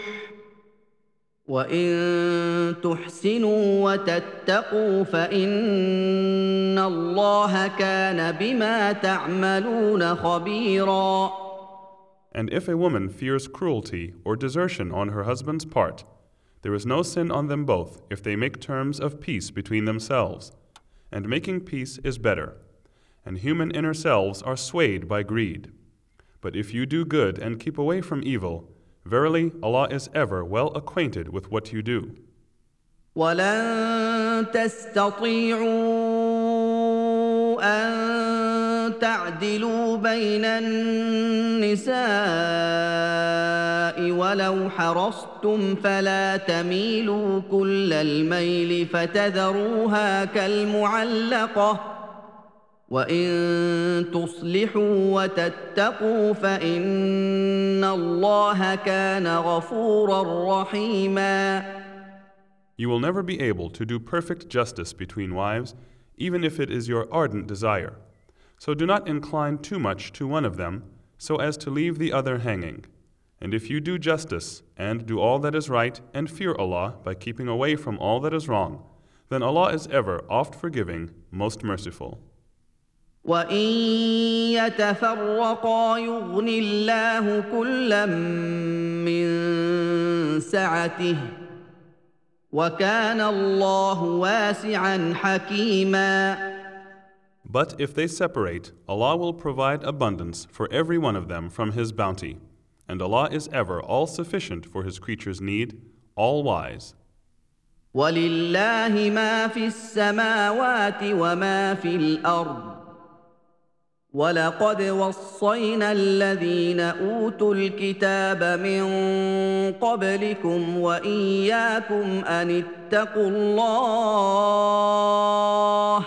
وَإِن تُحْسِنُوا وَتَتَّقُوا فَإِنَّ اللَّهَ كَانَ بِمَا تَعْمَلُونَ خَبِيرًا. And if a woman fears cruelty or desertion on her husband's part, there is no sin on them both if they make terms of peace between themselves. And making peace is better. And human inner selves are swayed by greed. But if you do good and keep away from evil, verily Allah is ever well acquainted with what you do. وَلَن تَسْتَطِيعُوا أَن تَعْدِلُوا بَيْنَ النِّسَاءِ وَلَوْ حَرَصْتُمْ فَلَا تَمِيلُوا كُلَّ الْمَيْلِ فَتَذَرُوهَا كَالْمُعَلَّقَةِ وَإِن تُصْلِحُوا وَتَتَّقُوا فَإِنَّ اللَّهَ كَانَ غَفُورًا رَّحِيمًا. You will never be able to do perfect justice between wives, even if it is your ardent desire. So do not incline too much to one of them, so as to leave the other hanging. And if you do justice, and do all that is right, and fear Allah by keeping away from all that is wrong, then Allah is ever oft forgiving, most merciful. وَإِن يَتَفَرَّقَا يُغْنِ اللَّهُ كُلًّا مِّن سَعَتِهِ وَكَانَ اللَّهُ وَاسِعًا حَكِيمًا. But if they separate, Allah will provide abundance for every one of them from His bounty. And Allah is ever all-sufficient for His creatures' need, all-wise. وَلِلَّهِ مَا فِي السَّمَاوَاتِ وَمَا فِي الْأَرْضِ وَلَقَدْ وَصَّيْنَا الَّذِينَ أُوتُوا الْكِتَابَ مِنْ قَبْلِكُمْ وَإِيَّاكُمْ أَنِ اتَّقُوا اللَّهَ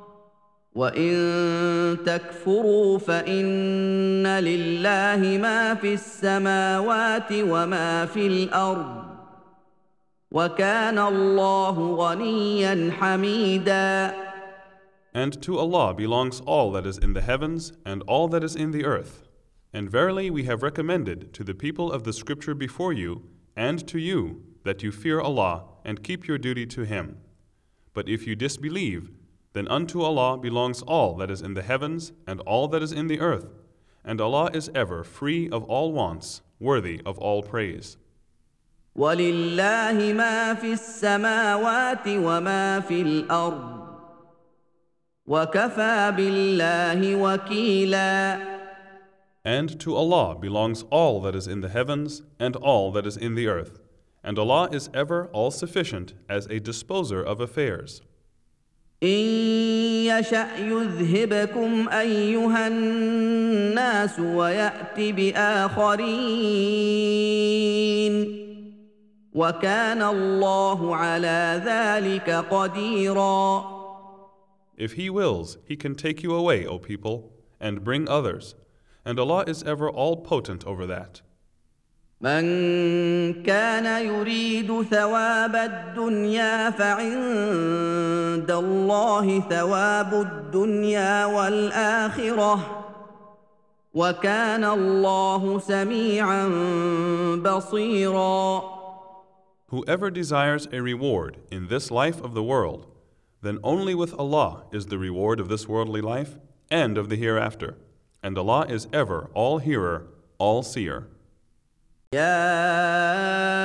وَإِن تَكْفُرُوا فَإِنَّ لِلَّهِ مَا فِي السَّمَاوَاتِ وَمَا فِي الْأَرْضِ وَكَانَ اللَّهُ غَنِيًّا حَمِيدًا. And to Allah belongs all that is in the heavens and all that is in the earth. And verily we have recommended to the people of the scripture before you and to you that you fear Allah and keep your duty to Him. But if you disbelieve, then unto Allah belongs all that is in the heavens and all that is in the earth. And Allah is ever free of all wants, worthy of all praise. وَلِلَّهِ مَا فِي السَّمَاوَاتِ وَمَا فِي الْأَرْضِ وَكَفَى بِاللَّهِ وَكِيلًا. And to Allah belongs all that is in the heavens and all that is in the earth. And Allah is ever all-sufficient as a disposer of affairs. إن يشأ يذهبكم أيها الناس ويأت بآخرين وكان الله على ذلك قديرا. If He wills, He can take you away, O people, and bring others, and Allah is ever all-potent over that. من كان يريد ثواب الدنيا فعند الله ثواب الدنيا والآخرة وكان الله سميعا بصيرا. Whoever desires a reward in this life of the world, then only with Allah is the reward of this worldly life and of the hereafter, and Allah is ever all-hearer, all-seer. يا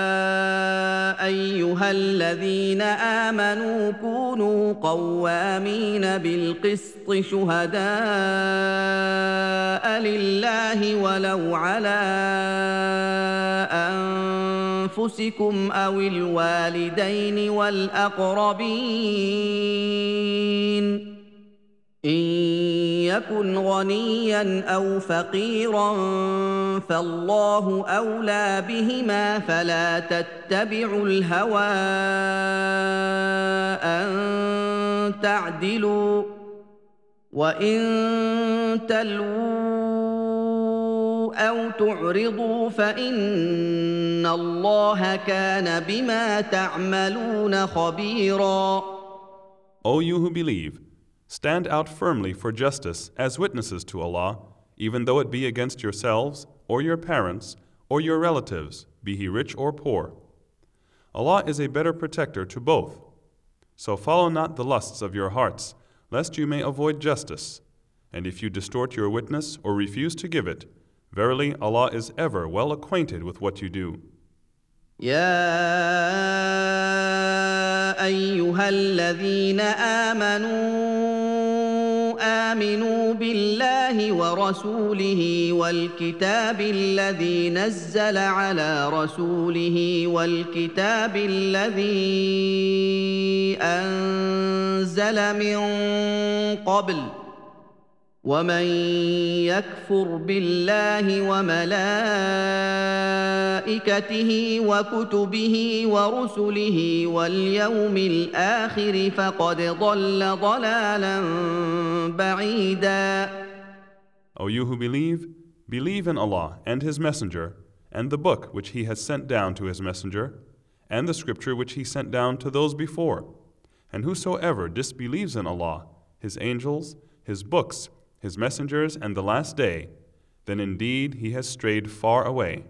أيها الذين آمنوا كونوا قوامين بالقسط شهداء لله ولو على أنفسكم أو الوالدين والأقربين إن يكن غنيا أو فقيرا فالله أولى بهما فلا تتبعوا الهوى أن تعدلوا وإن تلووا أو تعرضوا فإن الله كان بما تعملون خبيرا. O you who believe, stand out firmly for justice as witnesses to Allah, even though it be against yourselves, or your parents, or your relatives, be he rich or poor. Allah is a better protector to both. So follow not the lusts of your hearts, lest you may avoid justice. And if you distort your witness or refuse to give it, verily Allah is ever well acquainted with what you do. يا أيها الذين آمنوا آمنوا بالله ورسوله والكتاب الذي نزل على رسوله والكتاب الذي أنزل من قبل ومن يكفر بالله وملائكته وكتبه ورسله واليوم الآخر فقد ضل ضلالا بعيدا. O you who believe, believe in Allah and His Messenger, and the book which He has sent down to His Messenger, and the scripture which He sent down to those before. And whosoever disbelieves in Allah, His angels, His books, His messengers, and the last day, then indeed he has strayed far away.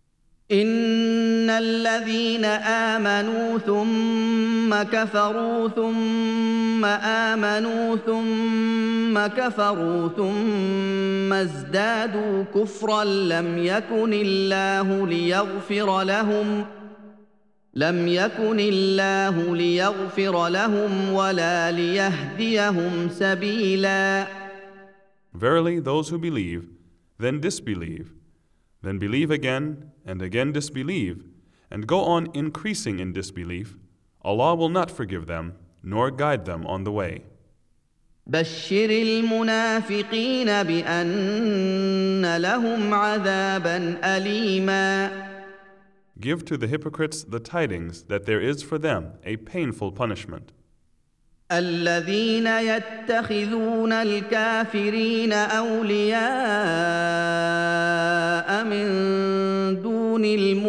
إن الذين آمنوا ثم كفروا ثم آمنوا ثم كفروا ثم ازدادوا كفرا لم يكن الله ليغفر لهم لم يكن الله ليغفر لهم ولا ليهديهم سبيلا. Verily, those who believe, then disbelieve, then believe again, and again disbelieve, and go on increasing in disbelief, Allah will not forgive them, nor guide them on the way. بشر المنافقين بأن لهم عذابا أليما. Give to the hypocrites the tidings that there is for them a painful punishment. الذين يتخذون الكافرين أولياء من دون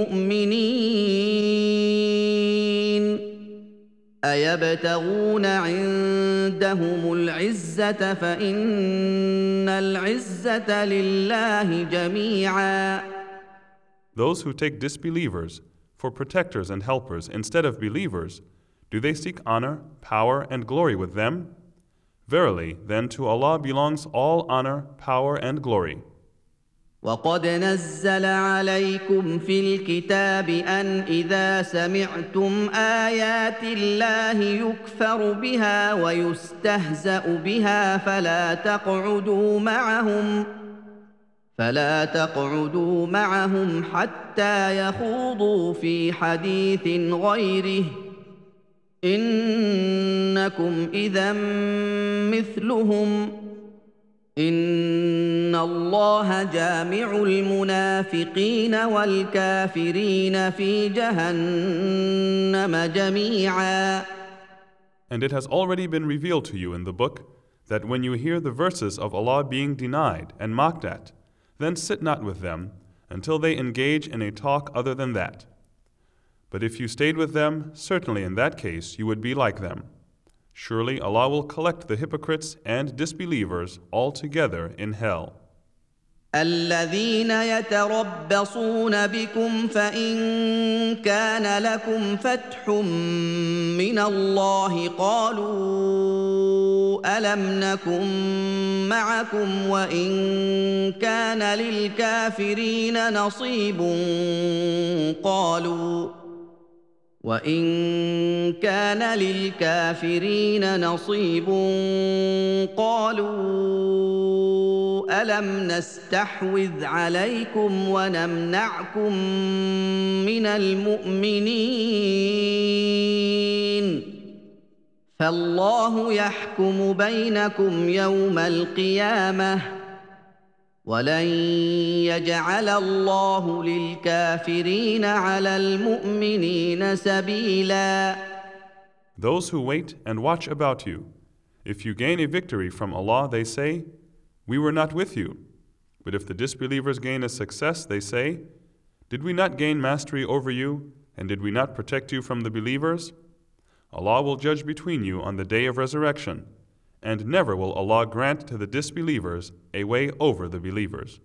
المؤمنين أيبتغون عندهم العزة فإن العزة لله جميعا. Those who take disbelievers for protectors and helpers instead of believers, do they seek honor, power, and glory with them? Verily, then to Allah belongs all honor, power, and glory. وقد نزل عليكم في الكتاب أن إذا سمعتم آيات الله يكفر بها ويستهزأ بها فلا تقعدوا معهم فلا تقعدوا معهم حتى يخوضوا في حديث غيره انكم اذا مثلهم ان الله جامع المنافقين والكافرين في جهنم جميعا. And it has already been revealed to you in the book that when you hear the verses of Allah being denied and mocked at, then sit not with them until they engage in a talk other than that. But if you stayed with them, certainly in that case you would be like them. Surely Allah will collect the hypocrites and disbelievers all together in hell. الذين يتربصون بكم فإن كان لكم فتح من الله قالوا ألم نكن معكم وإن كان للكافرين نصيب قالوا وإن كان للكافرين نصيب قالوا ألم نستحوذ عليكم ونمنعكم من المؤمنين فالله يحكم بينكم يوم القيامة ولن يجعل الله للكافرين على المؤمنين سبيلا. Those who wait and watch about you, if you gain a victory from Allah, they say, "We were not with you." But if the disbelievers gain a success, they say, "Did we not gain mastery over you, and did we not protect you from the believers?" Allah will judge between you on the day of resurrection, and never will Allah grant to the disbelievers a way over the believers.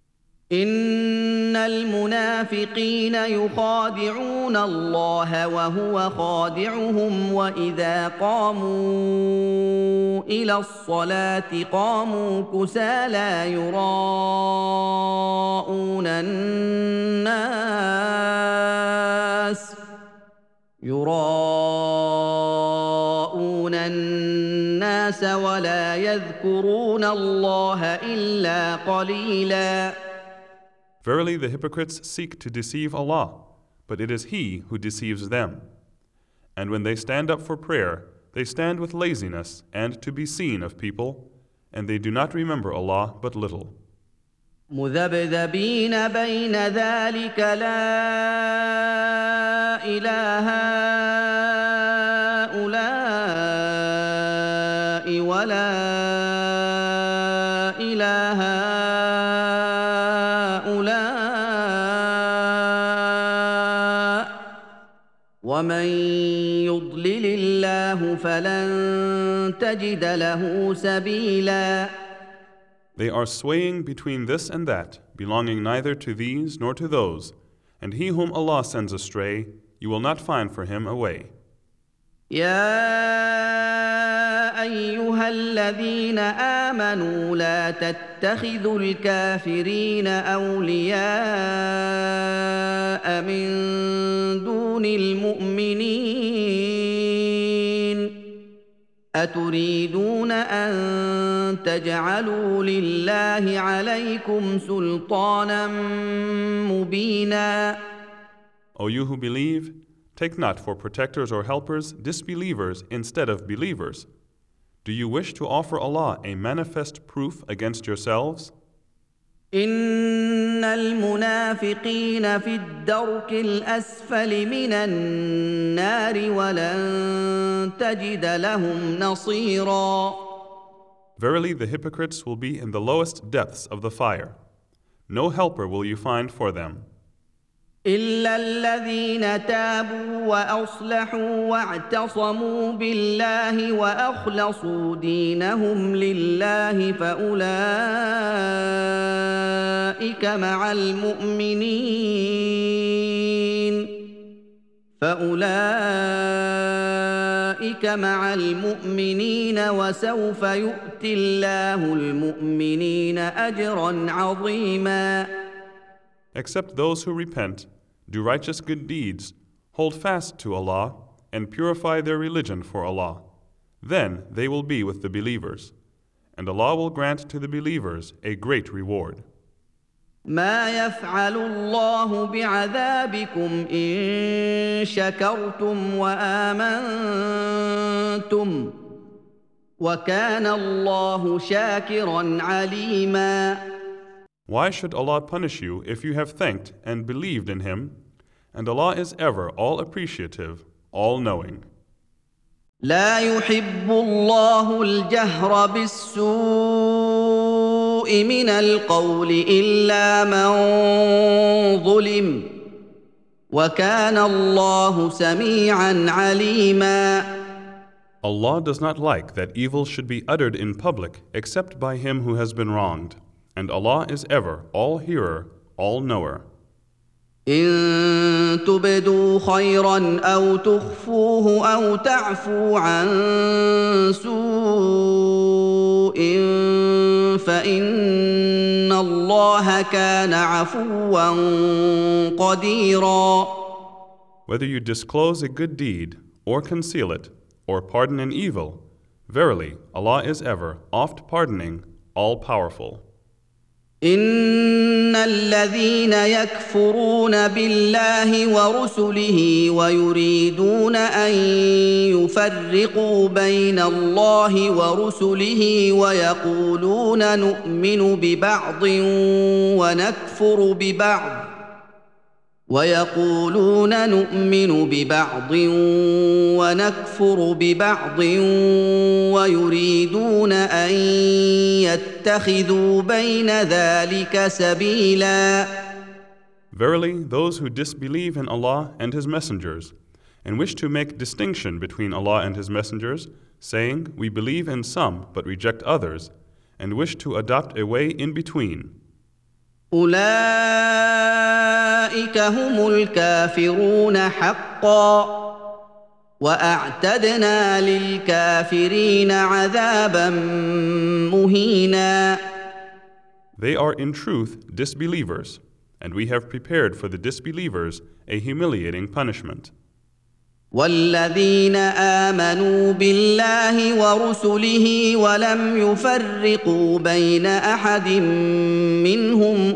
إن المنافقين يخادعون الله وهو خادعهم وإذا قاموا إلى الصلاة قاموا كسالى يراءون الناس يراءون الناس ولا يذكرون الله إلا قليلا. Verily the hypocrites seek to deceive Allah, but it is He who deceives them. And when they stand up for prayer, they stand with laziness and to be seen of people, and they do not remember Allah but little. مذبذبين بين ذلك لا إله هؤلاء ولا إله هؤلاء ومن يضلل الله فلن تجد له سبيلا. They are swaying between this and that, belonging neither to these nor to those, and he whom Allah sends astray, you will not find for him a way. يا أيها الذين آمنوا لا تتخذوا الكافرين أولياء من دون المؤمنين أتريدون أن تجعلوا لله عليكم سلطانا مبينا. O you who believe, take not for protectors or helpers disbelievers instead of believers. Do you wish to offer Allah a manifest proof against yourselves? إن المنافقين في الدرك الأسفل من النار ولن تجد لهم نصيرا. Verily the hypocrites will be in the lowest depths of the fire. No helper will you find for them. إلا الذين تابوا وأصلحوا واعتصموا بالله وأخلصوا دينهم لله فأولئك مع المؤمنين فأولئك مع المؤمنين وسوف يؤتي الله المؤمنين أجرا عظيما. Except those who repent, do righteous good deeds, hold fast to Allah, and purify their religion for Allah. Then they will be with the believers, and Allah will grant to the believers a great reward. ما يفعل الله بعذابكم إن شكرتم وآمنتم وكان الله شاكرا عليما. Why should Allah punish you if you have thanked and believed in Him? And Allah is ever all appreciative, all knowing. لا يحب الله الجهر بالسوء من القول إلا من ظلم وكان الله سميعا عليما. Allah does not like that evil should be uttered in public except by him who has been wronged, and Allah is ever all hearer, all knower. إن تبدوا خيرا أو تخفوه أو تعفو عن سوء فإن الله كان عفوا قديرا. Whether you disclose a good deed or conceal it, or pardon an evil, verily Allah is ever oft pardoning, all powerful. إن الذين يكفرون بالله ورسله ويريدون أن يفرقوا بين الله ورسله ويقولون نؤمن ببعض ونكفر ببعض ويقولون نؤمن ببعض ونكفر ببعض ويريدون أن يتخذوا بين ذلك سبيلا. Verily, those who disbelieve in Allah and His messengers and wish to make distinction between Allah and His messengers, saying, we believe in some but reject others, and wish to adopt a way in between, أولئك هم الكافرون حقا وأعتدنا للكافرين عذابا مهينا. They are in truth disbelievers, and we have prepared for the disbelievers a humiliating punishment. والذين آمنوا بالله ورسله ولم يفرقوا بين أحد منهم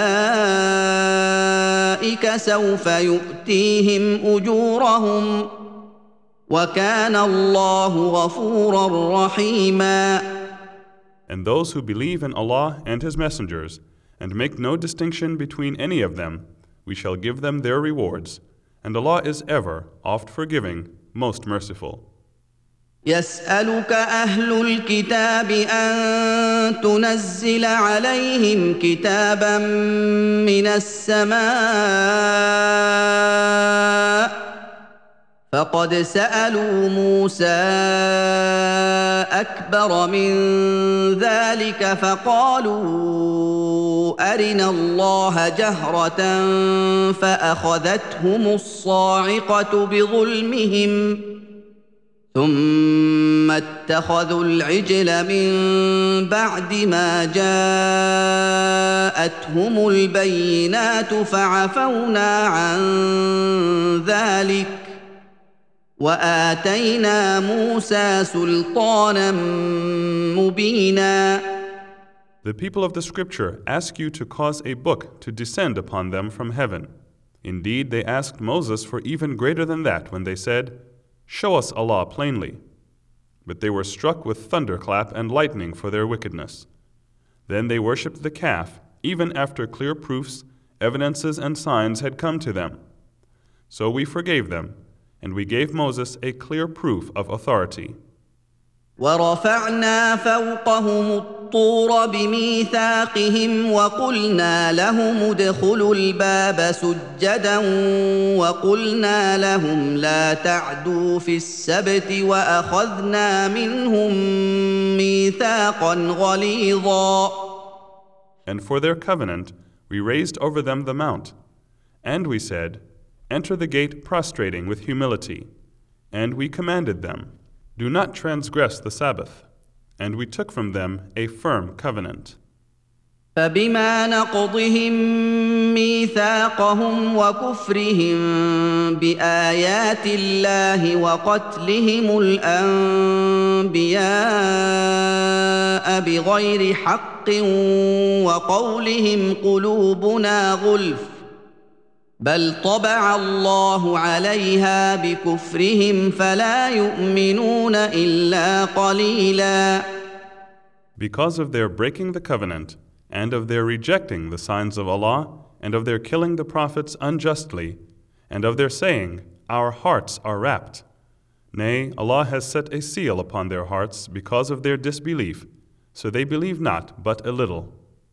أولئك سوف يؤتيهم أجورهم وكان الله غفورا رحيما. And those who believe in Allah and His messengers and make no distinction between any of them, we shall give them their rewards. And Allah is ever oft forgiving, most merciful. يسألك أهل الكتاب أن تنزل عليهم كتابا من السماء فقد سألوا موسى أكبر من ذلك فقالوا أرنا الله جهرة فأخذتهم الصاعقة بظلمهم ثم اتخذوا العجل من بعد ما جاءتهم البينات فعفونا عن ذلك وآتينا موسى سلطانا مبينا. The people of the scripture ask you to cause a book to descend upon them from heaven. Indeed, they asked Moses for even greater than that when they said, show us Allah plainly. But they were struck with thunderclap and lightning for their wickedness. Then they worshipped the calf, even after clear proofs, evidences, and signs had come to them. So we forgave them, and we gave Moses a clear proof of authority. ورفعنا فوقهم الطور بميثاقهم وقلنا لهم ادخلوا الباب سجدا وقلنا لهم لا تعدوا في السبت وأخذنا منهم ميثاقا غليظا. And for their covenant we raised over them the mount, and we said, enter the gate prostrating with humility, and we commanded them, do not transgress the Sabbath, and we took from them a firm covenant. فبما نقضهم ميثاقهم وكفرهم بآيات الله وقتلهم الأنبياء بغير حق وقولهم قلوبنا غلف بل طبع الله عليها بكفرهم فلا يؤمنون إلا قليلا. Because of their breaking the covenant, and of their rejecting the signs of Allah, and of their killing the prophets unjustly, and of their saying, "Our hearts are wrapped." Nay, Allah has set a seal upon their hearts because of their disbelief, so they believe not but a little.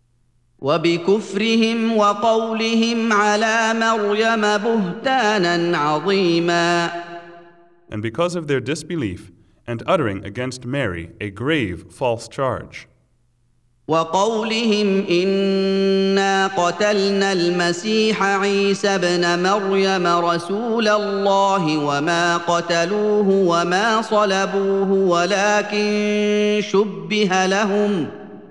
وبكفرهم وقولهم على مريم بهتانا عظيما. And because of their disbelief and uttering against Mary a grave false charge. وقولهم إنا قتلنا المسيح عيسى ابن مريم رسول الله وما قتلوه وما صلبوه ولكن شبه لهم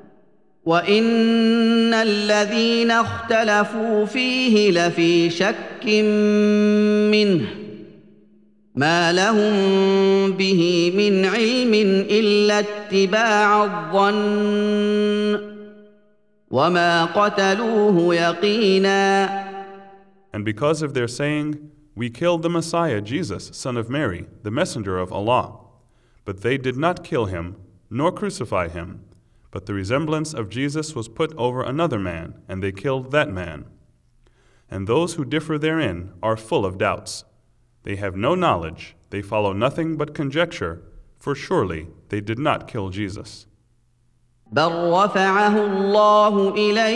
وإن الذين اختلفوا فيه لفي شك منه ما لهم به من علم إلا اتباع الظن وما قتلوه يقينا. And because of their saying, "We killed the Messiah, Jesus, son of Mary, the messenger of Allah," but they did not kill him, nor crucify him, but the resemblance of Jesus was put over another man, and they killed that man. And those who differ therein are full of doubts. They have no knowledge, they follow nothing but conjecture, for surely they did not kill Jesus. بل رفعه الله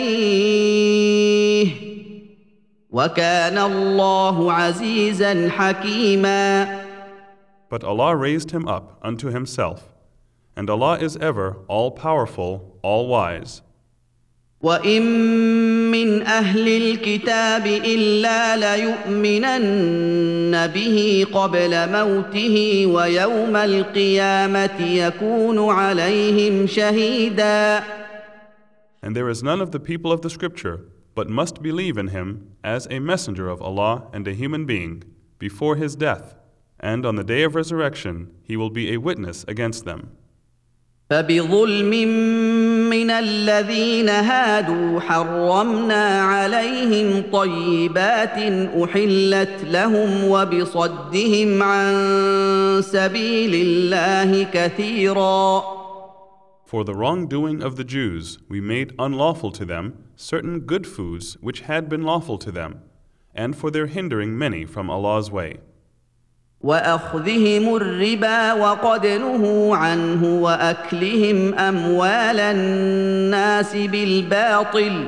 إليه وكان الله عزيزا حكيما. But Allah raised him up unto himself, and Allah is ever all-powerful, all-wise. وَإِن مِّنْ أَهْلِ الْكِتَابِ إِلَّا لَيُؤْمِنَنَّ بِهِ قَبْلَ مَوْتِهِ وَيَوْمَ الْقِيَامَةِ يَكُونُ عَلَيْهِمْ شَهِيدًا. And there is none of the people of the scripture but must believe in him as a messenger of Allah and a human being before his death, and on the day of resurrection he will be a witness against them. فبظلم من الذين هادوا حرمنا عليهم طيبات أحلت لهم وبصدهم عن سبيل الله كثيرا. For the wrongdoing of the Jews, we made unlawful to them certain good foods which had been lawful to them, and for their hindering many from Allah's way. وأخذهم الربا وقد نهوا عنه وأكلهم أموال الناس بالباطل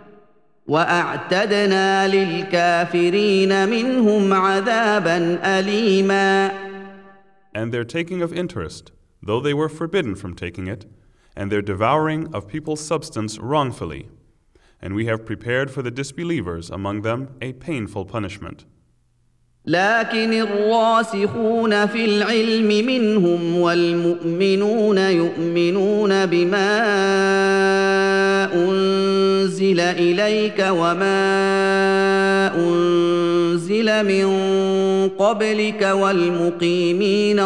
وأعتدنا للكافرين منهم عذابا أليما. And their taking of interest, though they were forbidden from taking it, and their devouring of people's substance wrongfully, and we have prepared for the disbelievers among them a painful punishment. لكن الراسخون في العلم منهم والمؤمنون يؤمنون بما أنزل إليك وما أنزل من قبلك والمقيمين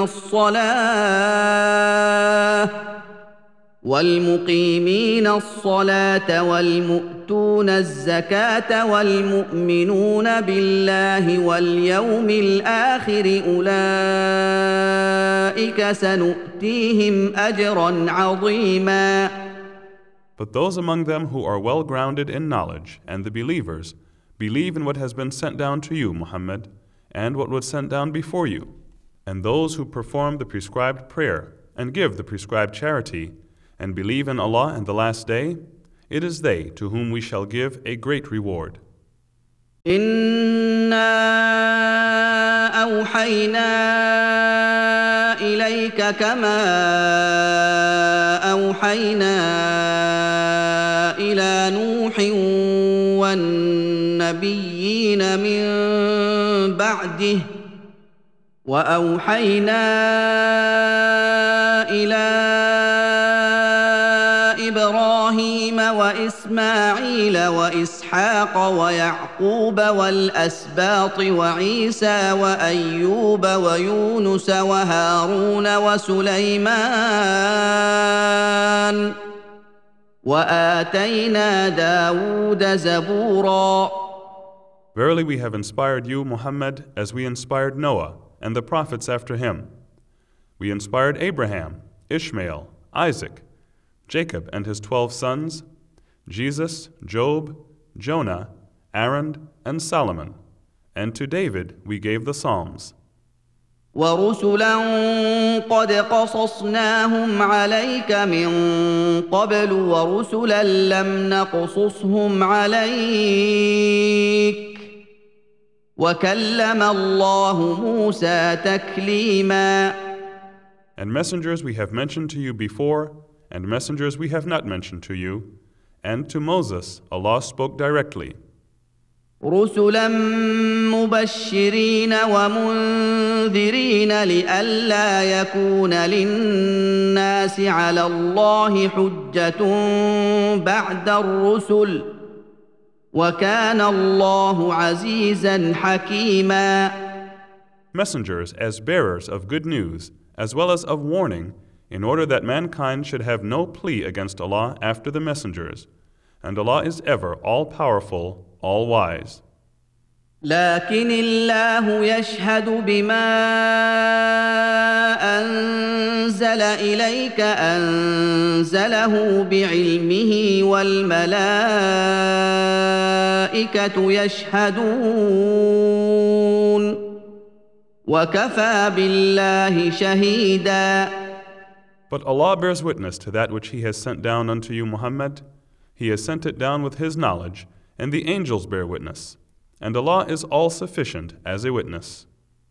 الصلاة والمقيمين الصلاة والمؤتون الزكاة والمؤمنون بالله واليوم الآخر أولئك سنؤتيهم أجرا عظيما. But those among them who are well grounded in knowledge and the believers believe in what has been sent down to you, Muhammad, and what was sent down before you, and those who perform the prescribed prayer and give the prescribed charity and believe in Allah and the Last Day, it is they to whom we shall give a great reward. إِنَّا أَوْحَيْنَا إِلَيْكَ كَمَا أَوْحَيْنَا إِلَى نُوحٍ وَالنَّبِيِّينَ مِن بَعْدِهِ وَأَوْحَيْنَا إِلَى إبراهيم وإسماعيل وإسحاق ويعقوب والأسباط وعيسى وأيوب ويونس وهارون وسليمان وآتينا داود زبورا. Verily we have inspired you, Muhammad, as we inspired Noah and the prophets after him. We inspired Abraham, Ishmael, Isaac, Jacob and his twelve sons, Jesus, Job, Jonah, Aaron, and Solomon. And to David we gave the Psalms. ورسلا قد قصصناهم عليك من قبل ورسلا لم نقصصهم عليك وكلم الله موسى تكليما. And messengers we have mentioned to you before, and messengers we have not mentioned to you, and to Moses Allah spoke directly. رسلا مبشرين ومنذرين لئلا يكون للناس على الله حجة بعد الرسل وكان الله عزيزا حكيما. Messengers as bearers of good news as well as of warning, in order that mankind should have no plea against Allah after the messengers. And Allah is ever all-powerful, all-wise. لكن الله يشهد بما أنزل إليك أنزله بعلمه والملائكة يشهدون وكفى بالله شهيدا. But Allah bears witness to that which He has sent down unto you, Muhammad. He has sent it down with His knowledge, and the angels bear witness. And Allah is all-sufficient as a witness.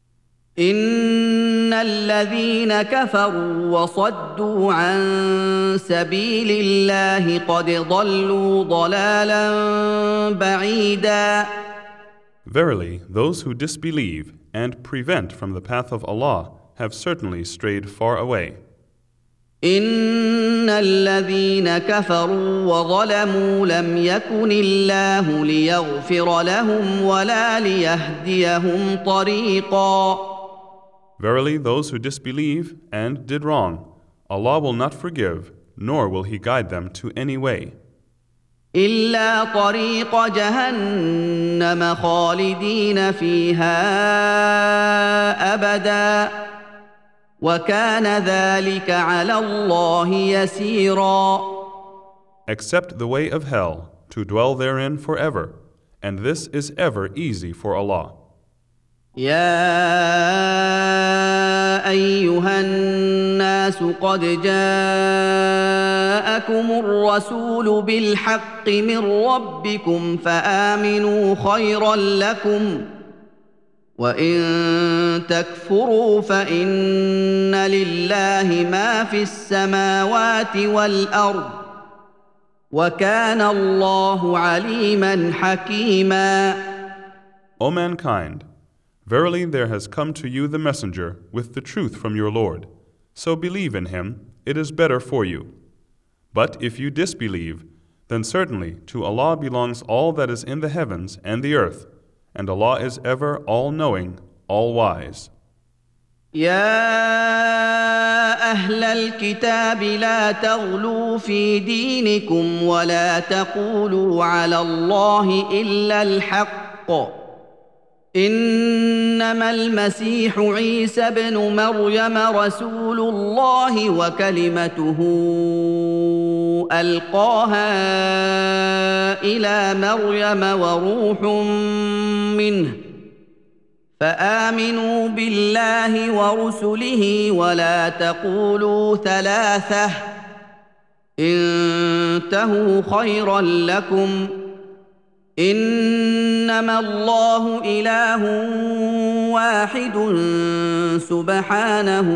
إن الذين كفروا وصدوا عن سبيل الله قد ضلوا ضلالا بعيدا. Verily, those who disbelieve and prevent from the path of Allah have certainly strayed far away. إن الذين كفروا وظلموا لم يكن الله ليغفر لهم ولا ليهديهم طريقا. Verily, those who disbelieve and did wrong, Allah will not forgive, nor will He guide them to any way. إلا طريق جهنم خالدين فيها أبدا وكان ذلك على الله يسيرا. Except the way of hell, to dwell therein forever, and this is ever easy for Allah. يا أيها الناس قد جاءكم الرسول بالحق من ربكم فآمنوا خيرا لكم وإن تكفروا فإن لله ما في السماوات والأرض وكان الله عليما حكيما. O mankind, verily there has come to you the messenger with the truth from your Lord. So believe in him, it is better for you. But if you disbelieve, then certainly to Allah belongs all that is in the heavens and the earth, and Allah is ever all-knowing, all-wise. يا أهل الكتاب لا تغلوا في دينكم ولا تقولوا على الله إلا الحق إنما المسيح عيسى ابن مريم رسول الله وكلمته ألقاها إلى مريم وروح منه فآمنوا بالله ورسله ولا تقولوا ثلاثة انتهوا خيرا لكم إنما الله إله واحد سبحانه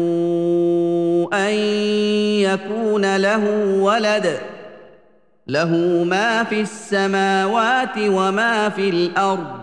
أن يكون له ولد له ما في السماوات وما في الأرض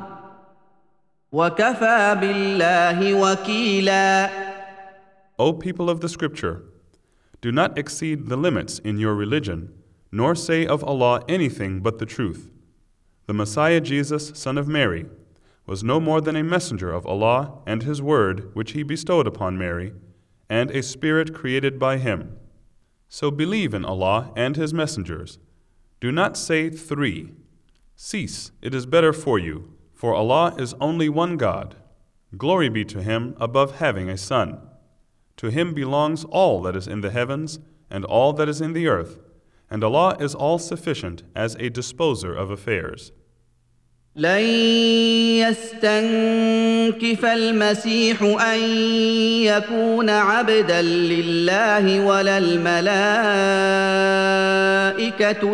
وكفى بالله وكيلا. O people of the scripture, do not exceed the limits in your religion, nor say of Allah anything but the truth. The Messiah Jesus, son of Mary, was no more than a messenger of Allah and His word which He bestowed upon Mary, and a spirit created by Him. So believe in Allah and His messengers. Do not say three. Cease, it is better for you, for Allah is only one God. Glory be to Him above having a son. To Him belongs all that is in the heavens and all that is in the earth, and Allah is all-sufficient as a disposer of affairs. لن يستنكف المسيح أن يكون عبدا لله ولا الملائكة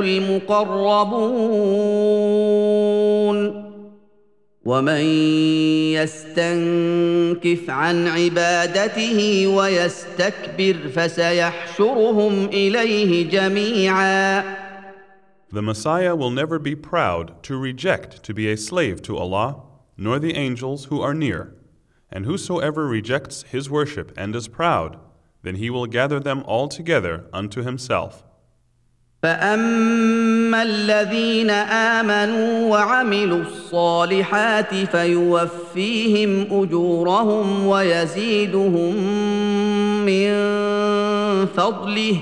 المقربون ومن يستنكف عن عبادته ويستكبر فسيحشرهم إليه جميعا. The Messiah will never be proud to reject to be a slave to Allah, nor the angels who are near. And whosoever rejects His worship and is proud, then He will gather them all together unto Himself. فأما الذين آمنوا وعملوا الصالحات فيوفيهم أجورهم ويزيدهم من فضله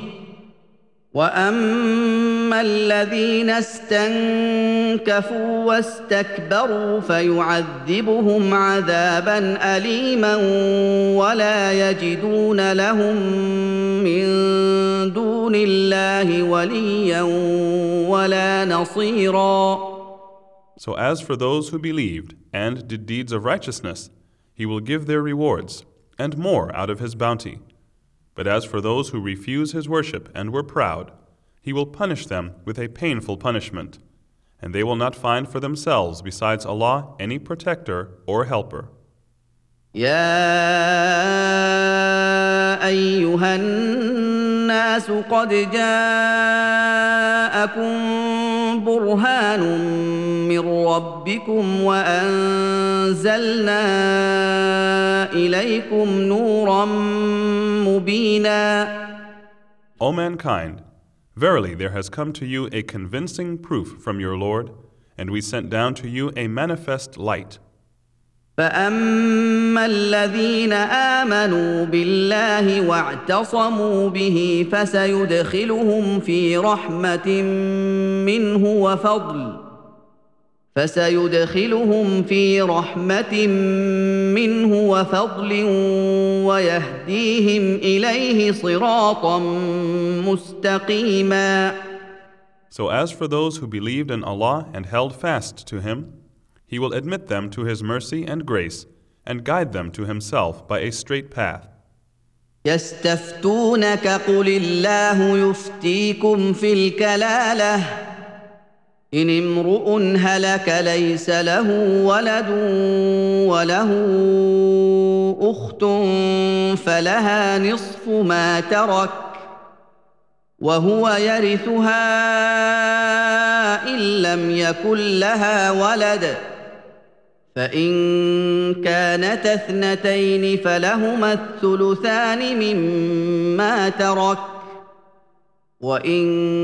وأما الذين استنكفوا واستكبروا فيعذبهم عذابا أليما ولا يجدون لهم من دون الله وليا ولا نصيرا. So as for those who believed and did deeds of righteousness, He will give their rewards, and more out of His bounty. But as for those who refuse His worship and were proud, He will punish them with a painful punishment, and they will not find for themselves besides Allah any protector or helper. يا أيها الناس قد جاءكم برهان من ربكم وأنزلنا إليكم نورا مبينا. O mankind, verily there has come to you a convincing proof from your Lord, and we sent down to you a manifest light. فأما الذين آمنوا بالله واعتصموا به فسيدخلهم في رحمة منه وفضل فسيدخلهم في رحمة منه وفضل ويهديهم إليه صراطا مستقيما. So as for those who believed in Allah and held fast to Him, He will admit them to His mercy and grace and guide them to Himself by a straight path. يستفتونك قل الله يفتيكم في الكلالة إن امرؤ هلك ليس له ولد وله أخت فلها نصف ما ترك وهو يرثها إن لم يكن لها ولد فإن كانتا اثنتين فلهما الثلثان مما ترك وإن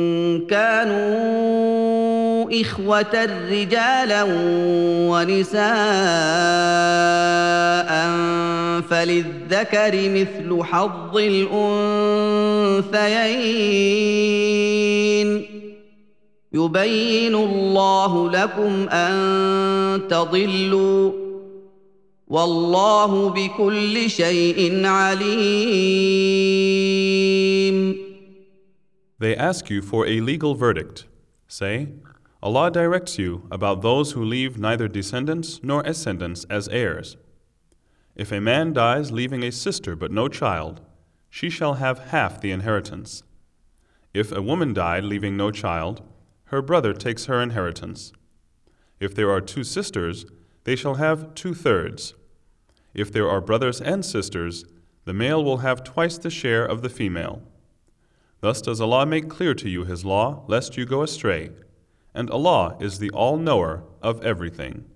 كانوا إخوة رجالا ونساء فللذكر مثل حظ الأنثيين يبين الله لكم أن تضلوا والله بكل شيء عليم. They ask you for a legal verdict. Say, Allah directs you about those who leave neither descendants nor ascendants as heirs. If a man dies leaving a sister but no child, she shall have half the inheritance. If a woman died leaving no child, her brother takes her inheritance. If there are two sisters, they shall have two-thirds. If there are brothers and sisters, the male will have twice the share of the female. Thus does Allah make clear to you His law, lest you go astray, and Allah is the all-knower of everything.